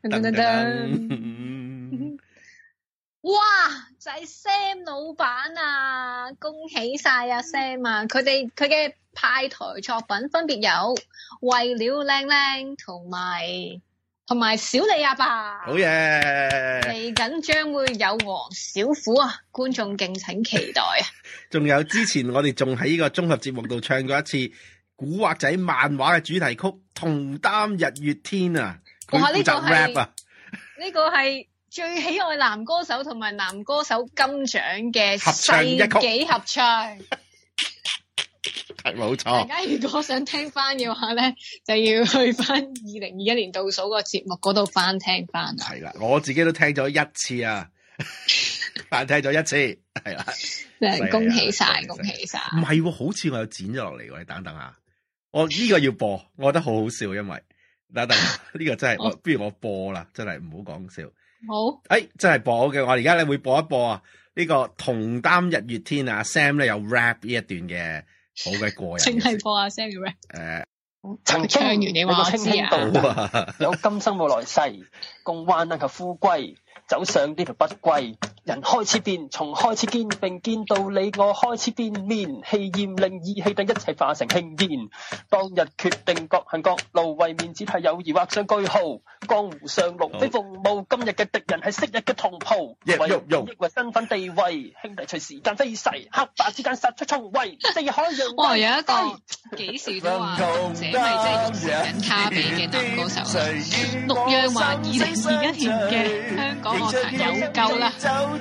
哇，就係 Sam 老闆啊！恭喜晒啊 Sam 啊！佢嘅派台作品分別有為了靚靚同埋小李阿爸。 好嘢！ 嚟緊將會有黃小虎啊，觀眾敬請期待啊！ 仲有之前我哋仲喺呢個綜合節目度唱過一次古惑仔漫畫嘅主題曲《同擔日月天》啊，佢負責 rap 啊！ 呢個係最喜愛男歌手同埋男歌手金獎嘅世紀合唱。 係冇錯。 大家如果想聽翻嘅話咧，就要去翻2021年倒數個節目嗰度翻聽翻。 係啦，我自己都聽咗一次啊，翻聽咗一次，係啦。 恭喜晒，恭喜晒！ 唔係，好似我有剪咗落嚟喎，你等等下，我呢個要播，我覺得好好笑，因為等等呢個真係，不如我播啦，真係唔好講笑。 好， 真係播嘅，我而家咧會播一播啊，呢個同擔日月天啊 ，Sam 咧有 rap 呢一段嘅好嘅過癮， 淨係播阿 Sam 嘅 rap。 曾唱完你話我知啊，有今生冇來世，共患難及富貴，走上呢條不歸。 人開始變，從開始見並見到你我開始變面，氣焰令意氣等一切化成輕煙。當日決定各行各路，為面子派友誼畫上句號。江湖上龍飛鳳舞，今日嘅敵人係昔日嘅同袍。為抑或身份地位，兄弟隨時間飛逝，黑白之間殺出重圍。四海洋哇，有一個幾時都話這咪即係用緊卡比嘅男歌手啦。陸陽話2021年嘅香港樂壇有救啦。 衝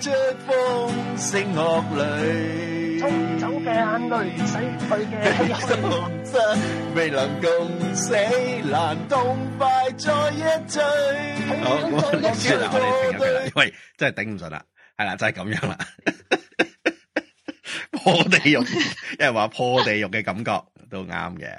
走嘅眼淚，洗去嘅唏噓， 未能共死，難痛快再一醉。好，我哋算啦，我哋停啦，因為真係頂唔順啦，係啦，就係咁樣啦。破地獄，有人話破地獄嘅感覺都啱嘅，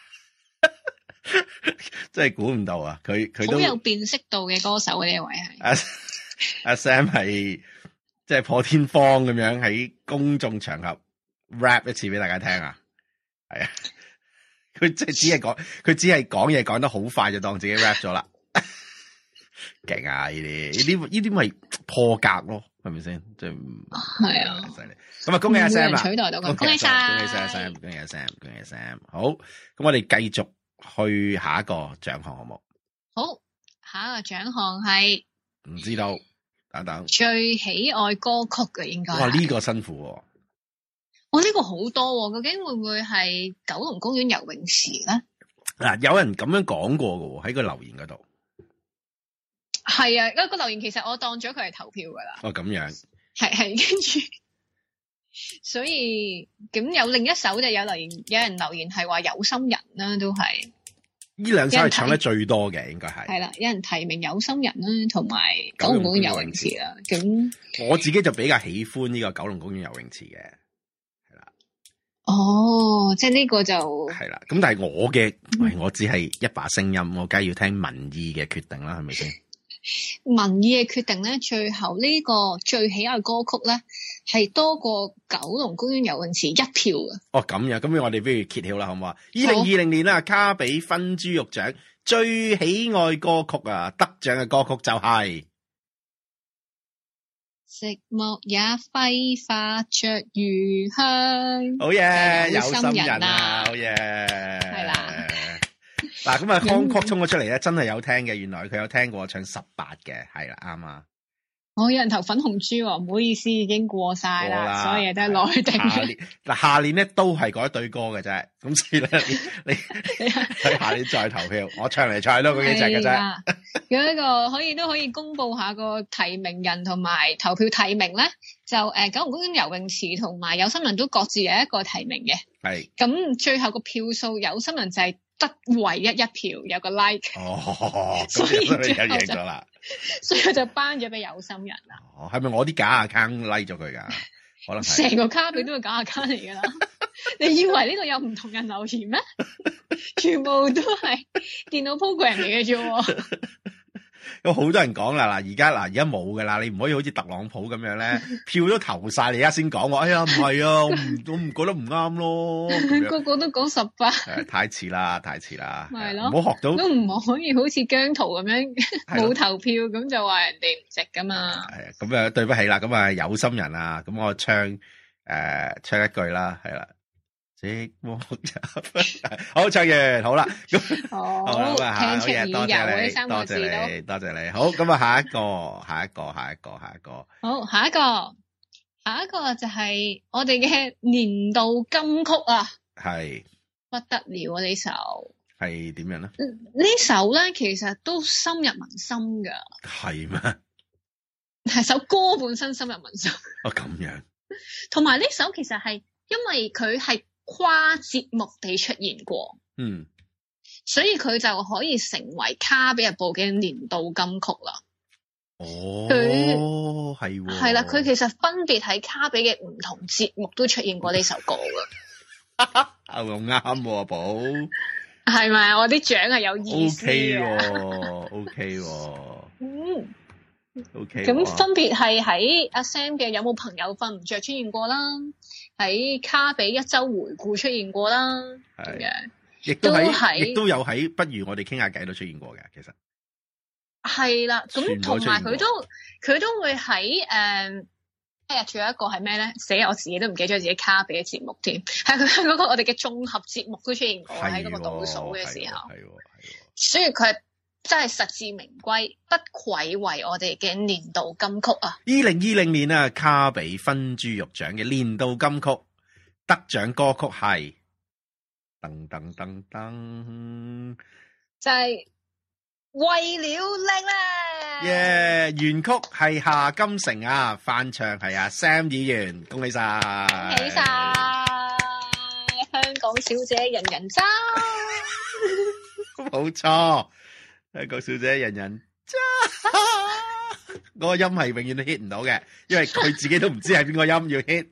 真係估唔到啊！佢都好有辨識度嘅歌手，呢一位係阿 Sam 係。即係破天荒咁樣喺公眾場合 rap 一次俾大家聽啊，係啊，佢即係只係講嘢講得好快就當自己 rap 咗啦，勁啊！呢啲咪破格咯，係咪先？即係係啊， 犀利！咁啊，恭喜阿 Sam 啦， 取代到佢，恭喜晒， 恭喜晒 Sam， 恭喜阿 Sam， 恭喜阿 Sam。好，咁我哋繼續去下一個獎項好冇？ 好，下一個獎項係唔知道。等等， 最喜愛歌曲嘅應該。 哇，呢個辛苦喎。 哇，呢個好多，究竟會唔會係九龍公園游泳池咧？ 嗱，有人咁樣講過嘅喎，喺個留言嗰度。 係啊，嗰個留言其實我當咗佢係投票噶啦。 哦，咁樣。係， 跟住，所以咁有另一首就有人留言係話有心人啦，都係。 呢兩首係唱得最多嘅，應該係。係啦，有人提名有心人啦，同埋九龍公園游泳池啦。咁我自己就比較喜歡呢個九龍公園游泳池嘅，係啦。 哦，即係呢個就係啦。咁但係我只係一把聲音，我梗係要聽民意嘅決定啦，係咪先？ 民意嘅決定咧，最後呢個最喜愛歌曲咧，係多過九龍公園游泳池一票嘅。哦，咁樣，咁我哋不如揭曉啦，好唔好啊？2020年啦，卡比分豬肉獎最喜愛歌曲啊，得獎嘅歌曲就係寂寞也揮發着餘香。 好嘢，有心人啊，好嘢，係啦。嗱，咁啊，康曲衝咗出嚟咧，真係有聽嘅。原來佢有聽過我唱18嘅，係啦，啱啊。有人投粉紅豬喎，唔好意思，已經過晒啦，所有嘢都係內定。下年咧都係嗰一對歌嘅啫，咁所以咧你喺下年再投票，我唱嚟唱去都嗰幾隻嘅啫。有一個可以公布下個提名人同埋投票提名咧，就九龍公園游泳池同埋有心人都各自有一個提名嘅。係。咁最後個票數有心人就係得唯一一票，有個 like。哦，所以就贏咗啦。所以我就頒咗俾有心人啦。哦，係咪我啲假 account like 咗佢噶？可能成個卡比都係假 account 嚟噶啦。你以為呢度有唔同人留言咩？全部都係電腦 program 嚟嘅啫。有好多人講啦，而家冇噶啦，你唔可以好似特朗普咁樣咧，票都投晒，你而家先講喎。哎呀，唔係啊，我唔覺得唔啱咯。個個都講18，太遲啦，係咯，唔好學到，都唔可以好似姜濤咁樣冇投票咁就話人哋唔值噶嘛。係啊，咁啊對不起啦，咁啊有心人啊，咁我唱一句啦，係啦。好，唱完好啦，好啦，好嘢，多謝你，多謝你，好，咁啊，下一個，好，下一個就係我哋嘅年度金曲啊，係不得了啊！呢首係點樣咧？呢首咧其實都深入民心噶，係咩？係首歌本身深入民心，哦，咁樣，同埋呢首其實係因為佢係跨節目地出現過，所以佢就可以成為卡比日報嘅年度金曲啦。哦，係啦，佢其實分別喺卡比嘅唔同節目都出現過呢首歌噶。咁啱喎，寶係咪？我啲獎係有意思嘅。OK， OK，咁分別係喺阿 Sam 嘅有冇朋友瞓唔着出現過啦，喺卡比一周回顧出現過啦，咁樣亦都有喺不如我哋傾下偈都出現過嘅，其實係啦，咁同埋佢都會喺日仲有一個係咩咧？死，我自己都唔記得咗自己卡比嘅節目添，係佢嗰個我哋嘅綜合節目都出現過喺嗰個倒數嘅時候，所以佢真係實至名歸，不愧為我哋嘅年度金曲啊！2020 年啊，卡比分豬肉獎嘅年度金曲得獎歌曲係噔噔噔噔， 就係為了靚咧， 原曲係夏金城啊，翻唱係阿 Sam 議員，恭喜晒， 恭喜晒，香港小姐人人爭， 冇錯。香港小姐人人揸，嗰個音係永遠都 hit 唔到嘅，因為佢自己都唔知係邊個音要 hit。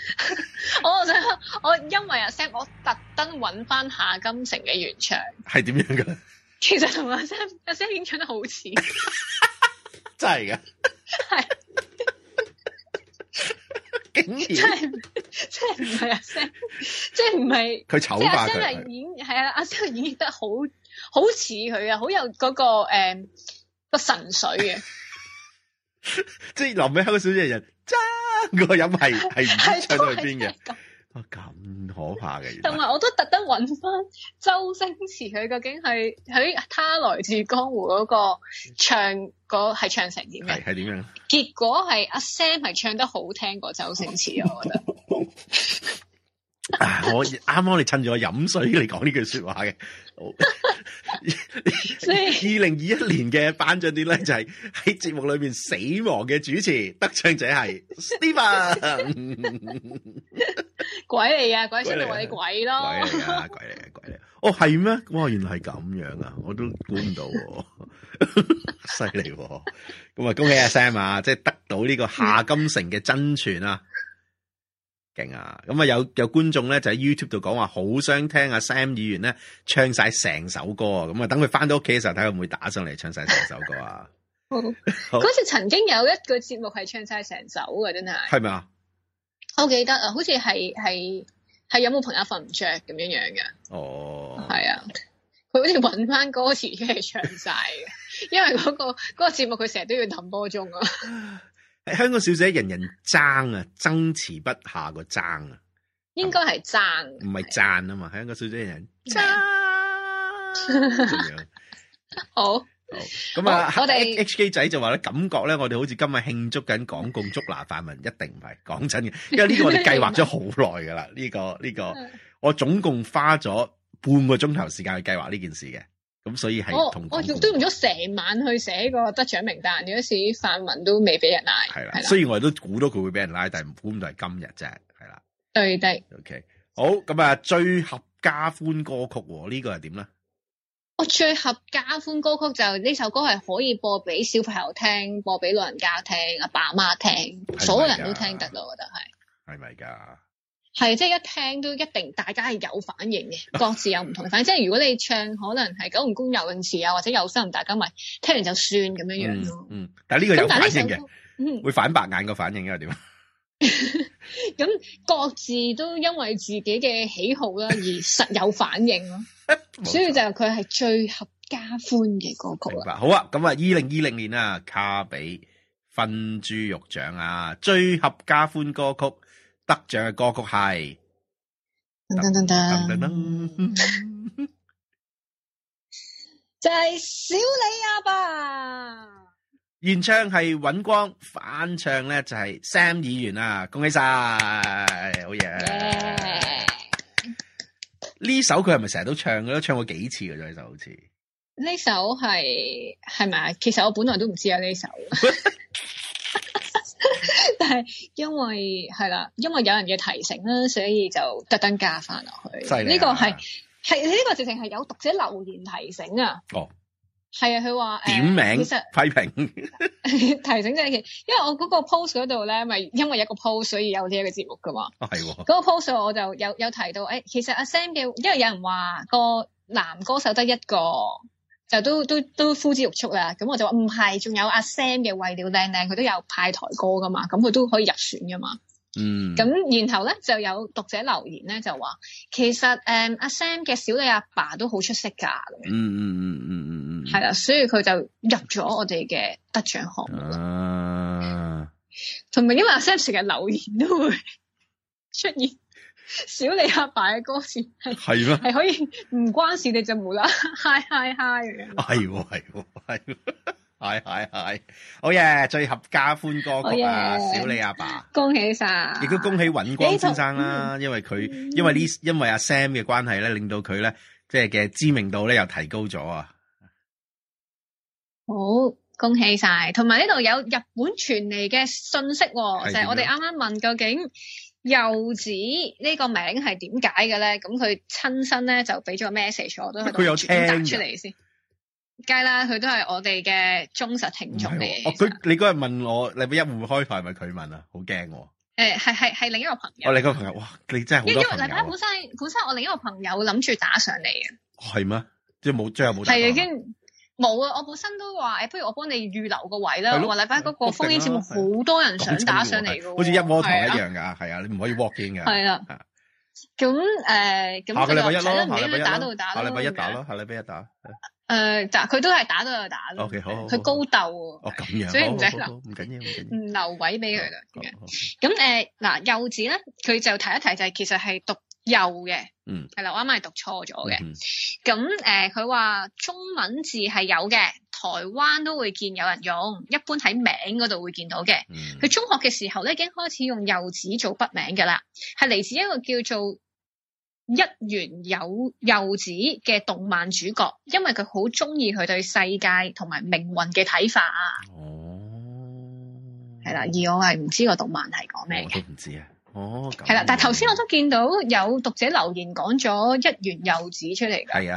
我因為阿 Sam，我特登揾翻夏金城嘅原唱， 係點樣噶？ 其實同阿 Sam 已經唱得好似， 真係噶， 係， 竟然真係唔係阿 Sam，即係唔係佢醜化佢， 即係阿 Sam 係演係啊，阿 Sam 演繹得好似佢啊，好有嗰個個神髓嘅， 即係臨尾香港小姐人爭個音係唔知唱到去邊嘅，咁可怕嘅。 同埋我都特登揾翻周星馳，佢究竟係喺他來自江湖嗰個唱嗰係唱成點嘅？ 係點樣？ 結果係阿 Sam 係唱得好聽過周星馳，我覺得。 我啱啱你趁住我飲水嚟講呢句說話嘅。2021年嘅頒獎典禮就係喺節目裏面死亡嘅主持，得獎者係 Steven。 鬼嚟啊！鬼先到我哋鬼咯。 鬼嚟啊！鬼嚟啊！鬼嚟！哦，係咩？哇，原來係咁樣啊！我都估唔到，犀利。咁啊，恭喜阿 Sam 啊，即係得到呢個夏金城嘅真傳啊！勁啊！咁啊有觀眾咧就喺 YouTube 度講話好想聽阿 Sam 議員咧唱晒成首歌啊！咁啊等佢翻到屋企嘅時候睇下會唔會打上嚟唱晒成首歌啊！ 嗰時曾經有一個節目係唱晒成首嘅，真係係咪啊？ 我記得啊，好似係有冇朋友瞓唔着咁樣樣嘅？ 哦， 係啊，佢好似搵翻歌詞出嚟唱晒嘅，因為嗰個節目佢成日都要揼波鐘啊。 香港小姐人人爭啊，爭持不下個爭啊， 應該係爭， 唔係讚啊嘛。香港小姐人人爭， 好咁啊！我哋 HK 仔就話咧，感覺咧，我哋好似今日慶祝緊港共捉拿泛民，一定唔係講真嘅，因為呢個我哋計劃咗好耐噶啦。呢個我總共花咗半個鐘頭時間去計劃呢件事嘅。咁所以係同我都用咗成晚去寫個得獎名單，有時泛民都未俾人拉。 係啦，雖然我哋都估到佢會俾人拉，但係估唔到係今日啫。係啦， 對的。 OK，好，咁啊，最合家歡歌曲呢個係點咧？ 我最合家歡歌曲就呢首歌係可以播俾小朋友聽，播俾老人家聽，阿爸阿媽聽，所有人都聽得咯。我覺得係。係咪噶？係，即係一聽都一定大家係有反應嘅，各自有唔同嘅反應。即係如果你唱可能係九龍公游泳池啊，或者有心，大家咪聽完就算咁樣樣咯。 但係呢個有反應嘅，會反白眼個反應因為點？ 咁各自都因為自己嘅喜好啦而實有反應咯，所以就佢係最合家歡嘅歌曲啦。 好啊，咁啊，2020年啊，卡比分豬肉獎啊，最合家歡歌曲。得獎嘅歌曲係就係小李阿爸， 原唱係尹光，翻唱咧就係 Sam 議員啊，恭喜晒，好嘢！呢首佢係咪成日都唱嘅？都唱過幾次嘅啫，呢首好似呢首係咪啊？其實我本來都唔知有呢首。但係因為係啦，因為有人嘅提醒啦，所以就特登加翻落去。呢個係呢個直情係有讀者留言提醒啊。哦，係啊，佢話點名其實批評提醒即係，因為我嗰個 post 嗰度咧，咪因為一個 post 所以有呢一個節目噶嘛。哦，係喎。嗰個 post 我就有提到，其實阿 Sam 嘅，因為有人話個男歌手得一個。就都呼之欲出啦，咁我就話唔係，仲有阿 Sam 嘅為了靚靚，佢都有派台歌噶嘛，咁佢都可以入選噶嘛。咁然後咧就有讀者留言咧就話，其實阿 Sam 嘅小李阿爸都好出色噶。係啦，所以佢就入咗我哋嘅得獎項目。 同埋因為阿 Sam 成日留言都會出現小李阿爸嘅歌詞係咩？係可以唔關事你就無啦嗨嗨嗨嘅。 係。係，好嘢！最合家歡歌曲啊，小李阿爸， 恭喜晒！亦都恭喜尹光先生啦，因為阿 Sam 嘅關係咧，令到佢咧即係嘅知名度咧又提高咗啊！ 好，恭喜晒！同埋呢度有日本傳嚟嘅信息，就係我哋啱啱問究竟柚子呢個名係點解嘅咧？咁佢親身咧就俾咗個 message， 我都喺度轉達出嚟先。梗係啦，佢都係我哋嘅忠實聽眾嚟嘅。 你嗰日問我禮拜一會唔會開台，係咪佢問啊？好驚喎！ 係另一個朋友。 我另一個朋友，哇！你真係好多朋友。因為禮拜一本身我另一個朋友諗住打上嚟嘅。係咩？即係最後冇打。 係已經冇啊！我本身都話不如我幫你預留個位啦。我話禮拜一嗰個烽煙節目好多人想打上嚟嘅， 好似一窩台一樣㗎。係啊，你唔可以 walk in 㗎。係啦。 咁下個禮拜一咯，下禮拜一打到打咯。 下禮拜一打咯，下禮拜一打。 佢都係打到就打咯。 OK， 好。 佢高鬥喎。 咁樣。 所以唔使留， 唔緊要。 唔留位俾佢啦。咁嗱，柚子咧，佢就提一提就係其實係讀柚嘅。係啦，我啱啱係讀錯咗嘅。咁佢話中文字係有嘅，台灣都會見有人用，一般喺名嗰度會見到嘅。佢中學嘅時候咧已經開始用柚子做筆名㗎啦，係嚟自一個叫做一元柚子嘅動漫主角，因為佢好中意佢對世界同埋命運嘅睇法啊。係啦，而我係唔知個動漫係講咩嘅。 我都唔知啊。 係啦，但係頭先我都見到有讀者留言講咗一元柚子出嚟㗎。係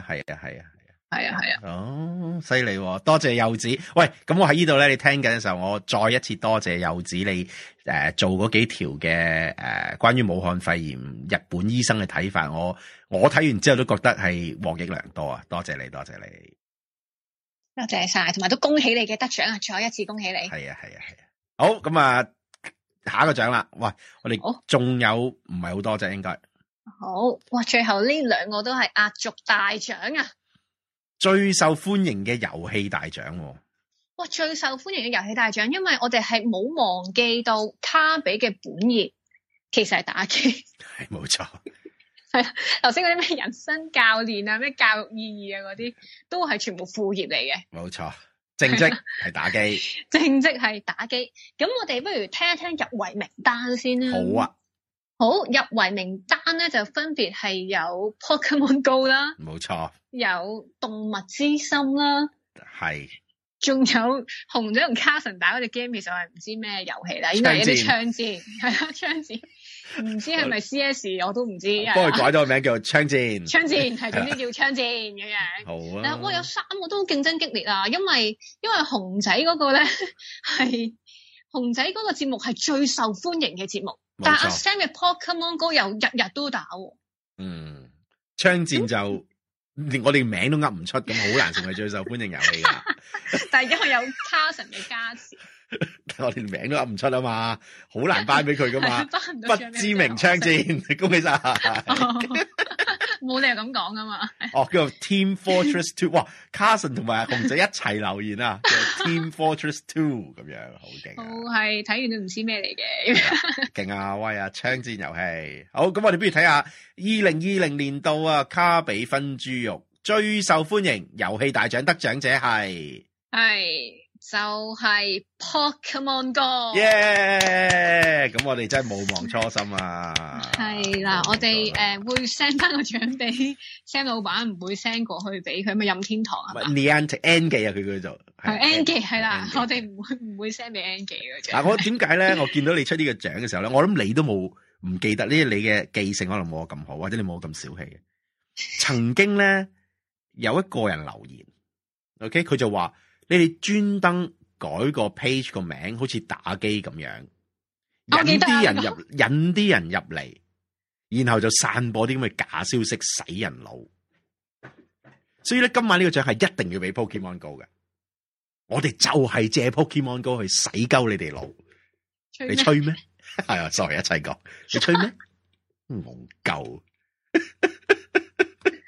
啊。犀利喎！多謝柚子。喂，咁我喺呢度咧，你聽緊嘅時候，我再一次多謝柚子你做嗰幾條嘅關於武漢肺炎日本醫生嘅睇法，我睇完之後都覺得係獲益良多啊！多謝你，多謝你， 多謝晒，同埋都恭喜你嘅得獎啊！再一次恭喜你。 係啊。好，咁啊，下一個獎啦。喂，我哋仲有唔係好多啫，應該。 好，哇！最後呢兩個都係壓軸大獎啊！ 最受歡迎嘅遊戲大獎。 哇！最受歡迎嘅遊戲大獎，因為我哋係冇忘記到卡比嘅本業其實係打機。 係冇錯。 係啊，頭先嗰啲咩人生教練啊、咩教育意義啊嗰啲，都係全部副業嚟嘅。冇錯，正職係打機。 正職係打機。咁我哋不如聽一聽入圍名單先啦。 好啊。 好，入圍名單咧就分別係有 Pokemon Go 啦， 冇錯， 有動物之心啦， 係， 仲有紅仔同 Carson 打嗰隻 game，其實我係唔知咩遊戲啦，應該係一啲槍戰，係啊，槍戰，唔知係咪 CS 我都唔知， 幫佢改咗個名叫做槍戰， 槍戰係總之叫槍戰咁樣， 好啊， 但係有3個都競爭激烈啊，因為紅仔嗰個咧係紅仔嗰個節目係最受歡迎嘅節目。但阿 Sam 嘅 Pokemon Go 又日日都打喎。 槍戰就我哋名都噏唔出，咁好難成為最受歡迎遊戲噶。 但係因為有 Carson 嘅加持， 但我哋名都噏唔出啊嘛，好難頒俾佢噶嘛。不知名槍戰，恭喜晒！ 冇理由咁講噶嘛。 叫做 Team Fortress 2， 哇 ！Carson 同埋紅仔一齊留言啊，叫 Team Fortress 2咁樣，好勁。我係睇完都唔知咩嚟嘅。 勁啊，威啊！槍戰遊戲，好，咁我哋不如睇下2020年度啊卡比分豬肉最受歡迎遊戲大獎得獎者係就係 Pokemon Go。 耶！咁我哋真係冇忘初心啊。 係啦，我哋會 send 翻個獎俾 Sam 老闆，唔會 send 過去俾佢，咪任天堂係嘛 ？N 記啊，佢叫做係 N 記係啦，我哋唔會 send 俾 N 記嘅。 嗱，我點解咧？我見到你出呢個獎嘅時候咧，我諗你都冇唔記得呢？你嘅記性可能冇我咁好，或者你冇我咁小氣嘅。曾經咧有一個人留言 ，OK， 佢就話。你哋專登改個 page 個名，好似打機咁樣，引啲人入嚟，然後就散播啲咁嘅假消息，洗人腦。所以咧，今晚呢個獎係一定要俾 Pokemon Go 嘅。我哋就係借 Pokemon Go 去洗鳩你哋腦。你吹咩？係啊，sorry，一齊講。你吹咩？戇鳩。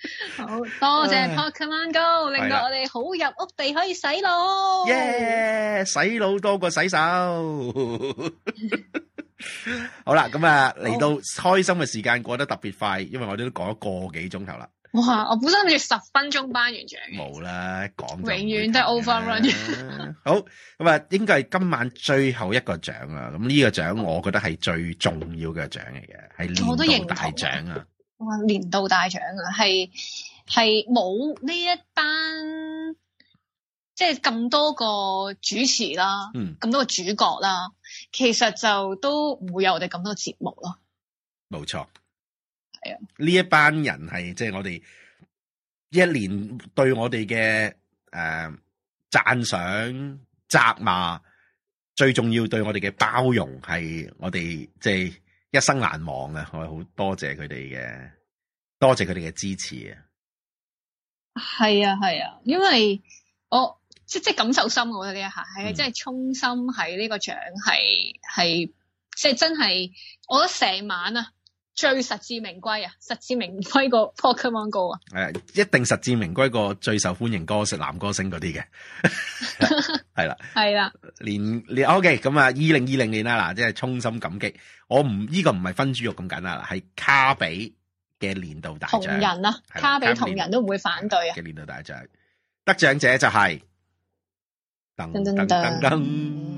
好多謝 Pokemon Go， 令到我哋好入屋地可以洗腦。 耶！洗腦多過洗手。好啦，咁啊嚟到開心嘅時間過得特別快，因為我哋都講咗個幾鐘頭啦。 哇！我本身諗住10分鐘頒完獎嘅。冇啦，講永遠都係 overrun。 好，咁啊，應該係今晚最後一個獎啦。咁呢個獎我覺得係最重要嘅獎嚟嘅，係年度大獎啊！ 哇，年度大獎啊，係冇呢一班即係咁多個主持啦，咁多個主角啦，其實就都唔會有我哋咁多節目咯。 冇錯。 係啊， 呢一班人係即係我哋一年對我哋嘅讚賞、責罵，最重要對我哋嘅包容，係我哋即係一生難忘啊！我好多謝佢哋嘅支持啊！ 係啊，因為我即係感受深，我覺得呢一下係真係衷心喺呢個獎係即係真係，我覺得成晚啊！最實至名歸啊！實至名歸過 Pokemon Go 啊！ 一定實至名歸過最受歡迎男歌星嗰啲嘅，係啦， 係啦。 連 OK 咁啊！2020年啦，嗱，即係衷心感激。我唔呢個唔係分豬肉咁簡單啦，係卡比嘅年度大獎。同人啊，卡比同人都唔會反對啊！嘅年度大獎得獎者就係噔噔噔噔。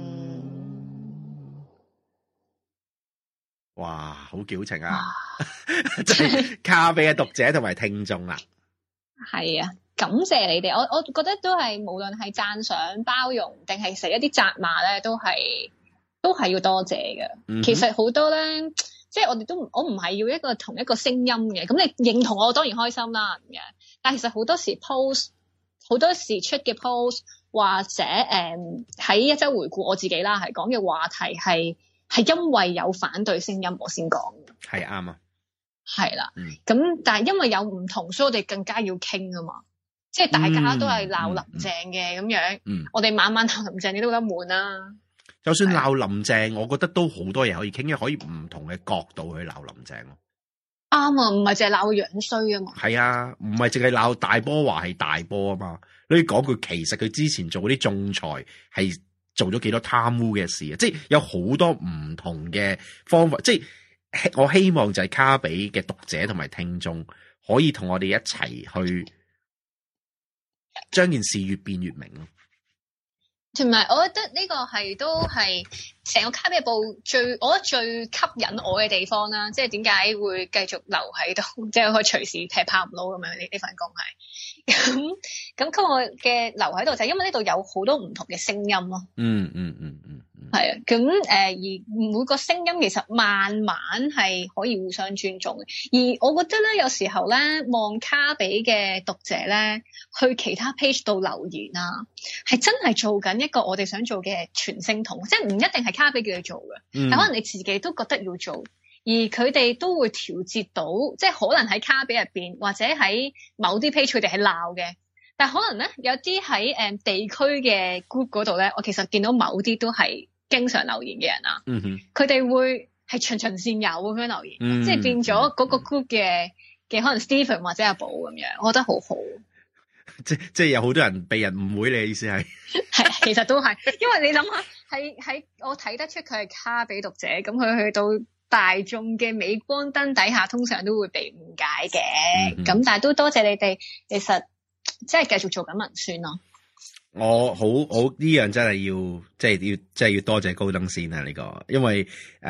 哇，好矯情啊！即係卡比嘅讀者同埋聽眾啦。係啊，感謝你哋。我覺得都係無論係讚賞、包容，定係寫一啲責罵咧，都係要多謝嘅。其實好多咧，即係我唔係要一個同一個聲音嘅。咁你認同我當然開心啦，咁樣。但係其實好多時 post， 好多時出嘅 post， 或者喺一周回顧我自己啦，係講嘅話題係因為有反對聲音我先講嘅，係啱啊，係啦，咁但係因為有唔同，所以我哋更加要傾啊嘛，即係大家都係鬧林鄭嘅咁樣，我哋晚晚鬧林鄭你都覺得悶啦。就算鬧林鄭，我覺得都好多嘢可以傾，因為可以唔同嘅角度去鬧林鄭咯。啱啊，唔係淨係鬧佢樣衰啊嘛。係啊，唔係淨係鬧大波話係大波啊嘛。你講句，其實佢之前做嗰啲仲裁係做咗幾多貪污嘅事啊！即係有好多唔同嘅方法，即係我希望就係卡比嘅讀者同埋聽眾可以同我哋一齊去將件事越變越明咯。同埋，我覺得呢個都係成個卡比日報我覺得最吸引我嘅地方啦。即係點解會繼續留喺度，即係可以隨時劈炮唔撈咁樣呢份工係。咁吸我嘅留喺度就係因為呢度有好多唔同嘅聲音咯。係啊，咁而每個聲音其實慢慢係可以互相尊重嘅。而我覺得咧，有時候咧望卡比嘅讀者咧去其他 page 度留言啊，係真係做緊一個我哋想做嘅傳聲筒，即係唔一定係卡比叫佢做嘅，但可能你自己都覺得要做，而佢哋都會調節到，即係可能喺卡比入邊或者喺某啲 page 佢哋係鬧嘅，但係可能咧有啲喺地區嘅 group 嗰度咧，我其實見到某啲都係經常留言嘅人啊，佢哋會係循循善誘咁樣留言，即係變咗嗰個 group 嘅可能 Stephen 或者阿寶咁樣，我覺得好好。即係有好多人被人誤會，你嘅意思係？係，其實都係，因為你諗下，喺我睇得出佢係卡比讀者，咁佢去到大眾嘅鎂光燈底下，通常都會被誤解嘅。咁但係都多謝你哋，其實即係繼續做緊文宣咯。我好呢樣真係要，即係要多謝高登先啊！呢個，因為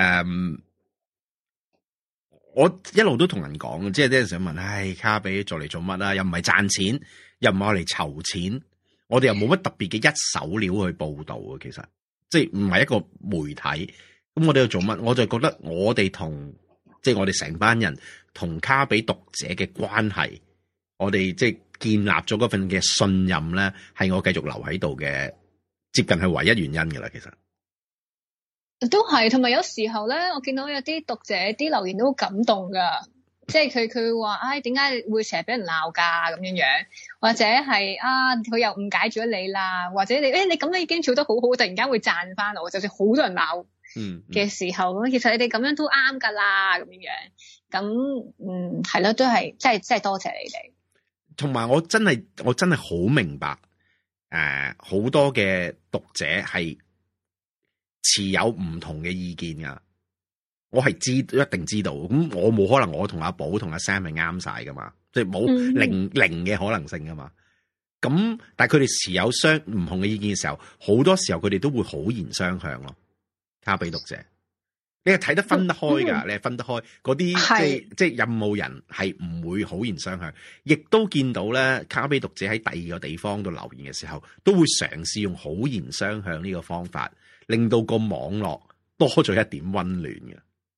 我一路都同人講，即係啲人想問，卡比做嚟做乜啊？又唔係賺錢，又唔係我嚟籌錢，我哋又冇乜特別嘅一手料去報道啊。其實即係唔係一個媒體，咁我哋要做乜？我就覺得我哋即係我哋成班人同卡比讀者嘅關係，我哋即係建立咗嗰份嘅信任咧，係我繼續留喺度嘅，接近係唯一原因噶啦。其實都係，同埋有時候咧，我見到有啲讀者啲留言都好感動噶，即係佢話，點解會成日俾人鬧噶咁樣樣，或者係佢又誤解咗你啦，或者你咁樣已經做得好好，突然間會讚翻我，就算好多人鬧嘅時候，咁其實你哋咁樣都啱噶啦，咁樣樣，咁係咯，都係即係多謝你哋。 同埋我真係好明白，好多嘅讀者係持有唔同嘅意見噶，我係一定知道。咁我冇可能我同阿寶同阿 Sam 係啱晒噶嘛，即係冇零嘅可能性噶嘛。咁但係佢哋持有唔同嘅意見嘅時候，好多時候佢哋都會好言相向咯。卡比讀者。你係睇得分得開㗎，你係分得開嗰啲即係任務人係唔會好言相向，亦都見到咧卡比讀者喺第二個地方度留言嘅時候，都會嘗試用好言相向呢個方法，令到個網絡多咗一點溫暖嘅。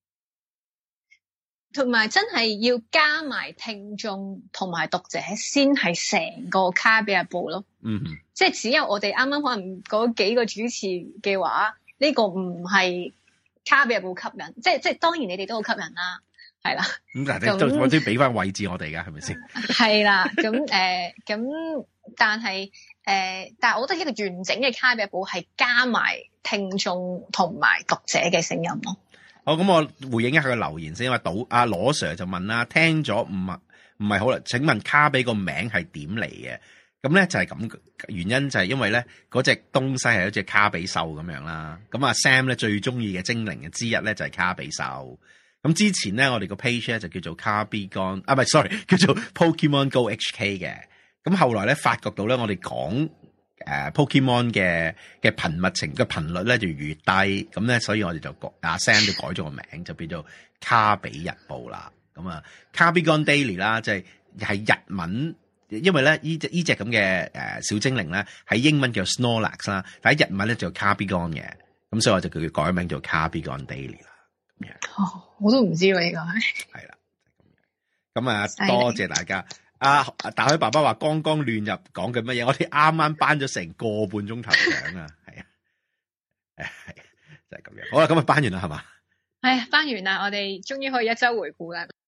同埋真係要加埋聽眾同埋讀者先係成個卡比日報咯。即係只有我哋啱啱可能嗰幾個主持嘅話，呢個唔係卡比日報吸引，即係當然你哋都好吸引啦，係啦。咁但係我都俾翻位置我哋噶，係咪先？係啦，咁但係我覺得一個完整嘅卡比日報係加埋聽眾同埋讀者嘅聲音咯。 好，咁我回應一下個留言先，因為阿羅 Sir 就問啦，聽咗唔係好啦，請問卡比個名係點嚟嘅？咁咧就係咁，原因就係因為咧嗰隻東西係一隻卡比獸咁樣啦。咁阿 Sam 咧最中意嘅精靈嘅之一咧就係卡比獸。咁之前咧我哋個 page 咧就叫做卡比 Gone 唔係 sorry 叫做 Pokemon Go HK 嘅。咁後來咧發覺到咧我哋講Pokemon 嘅頻密程嘅頻率咧就越低，咁咧所以我哋就阿 Sam 就改咗個名，就變做卡比日報啦。咁啊卡比 Gone Daily 啦，即係日文。因為咧呢隻咁嘅小精靈咧喺英文叫 Snorlax 啦，但喺日文咧就 Carbigone 嘅，咁所以我就叫佢改名做 Carbigone Daily 啦。咁樣我都唔知喎呢個係啦，咁啊多謝大家。大海爸爸話剛剛亂入講緊乜嘢？我哋啱啱頒咗成個半鐘頭獎啊，係啊，係就係咁樣。好啦，咁啊頒完啦係嘛？ 係頒完啦，我哋終於可以一周回顧啦。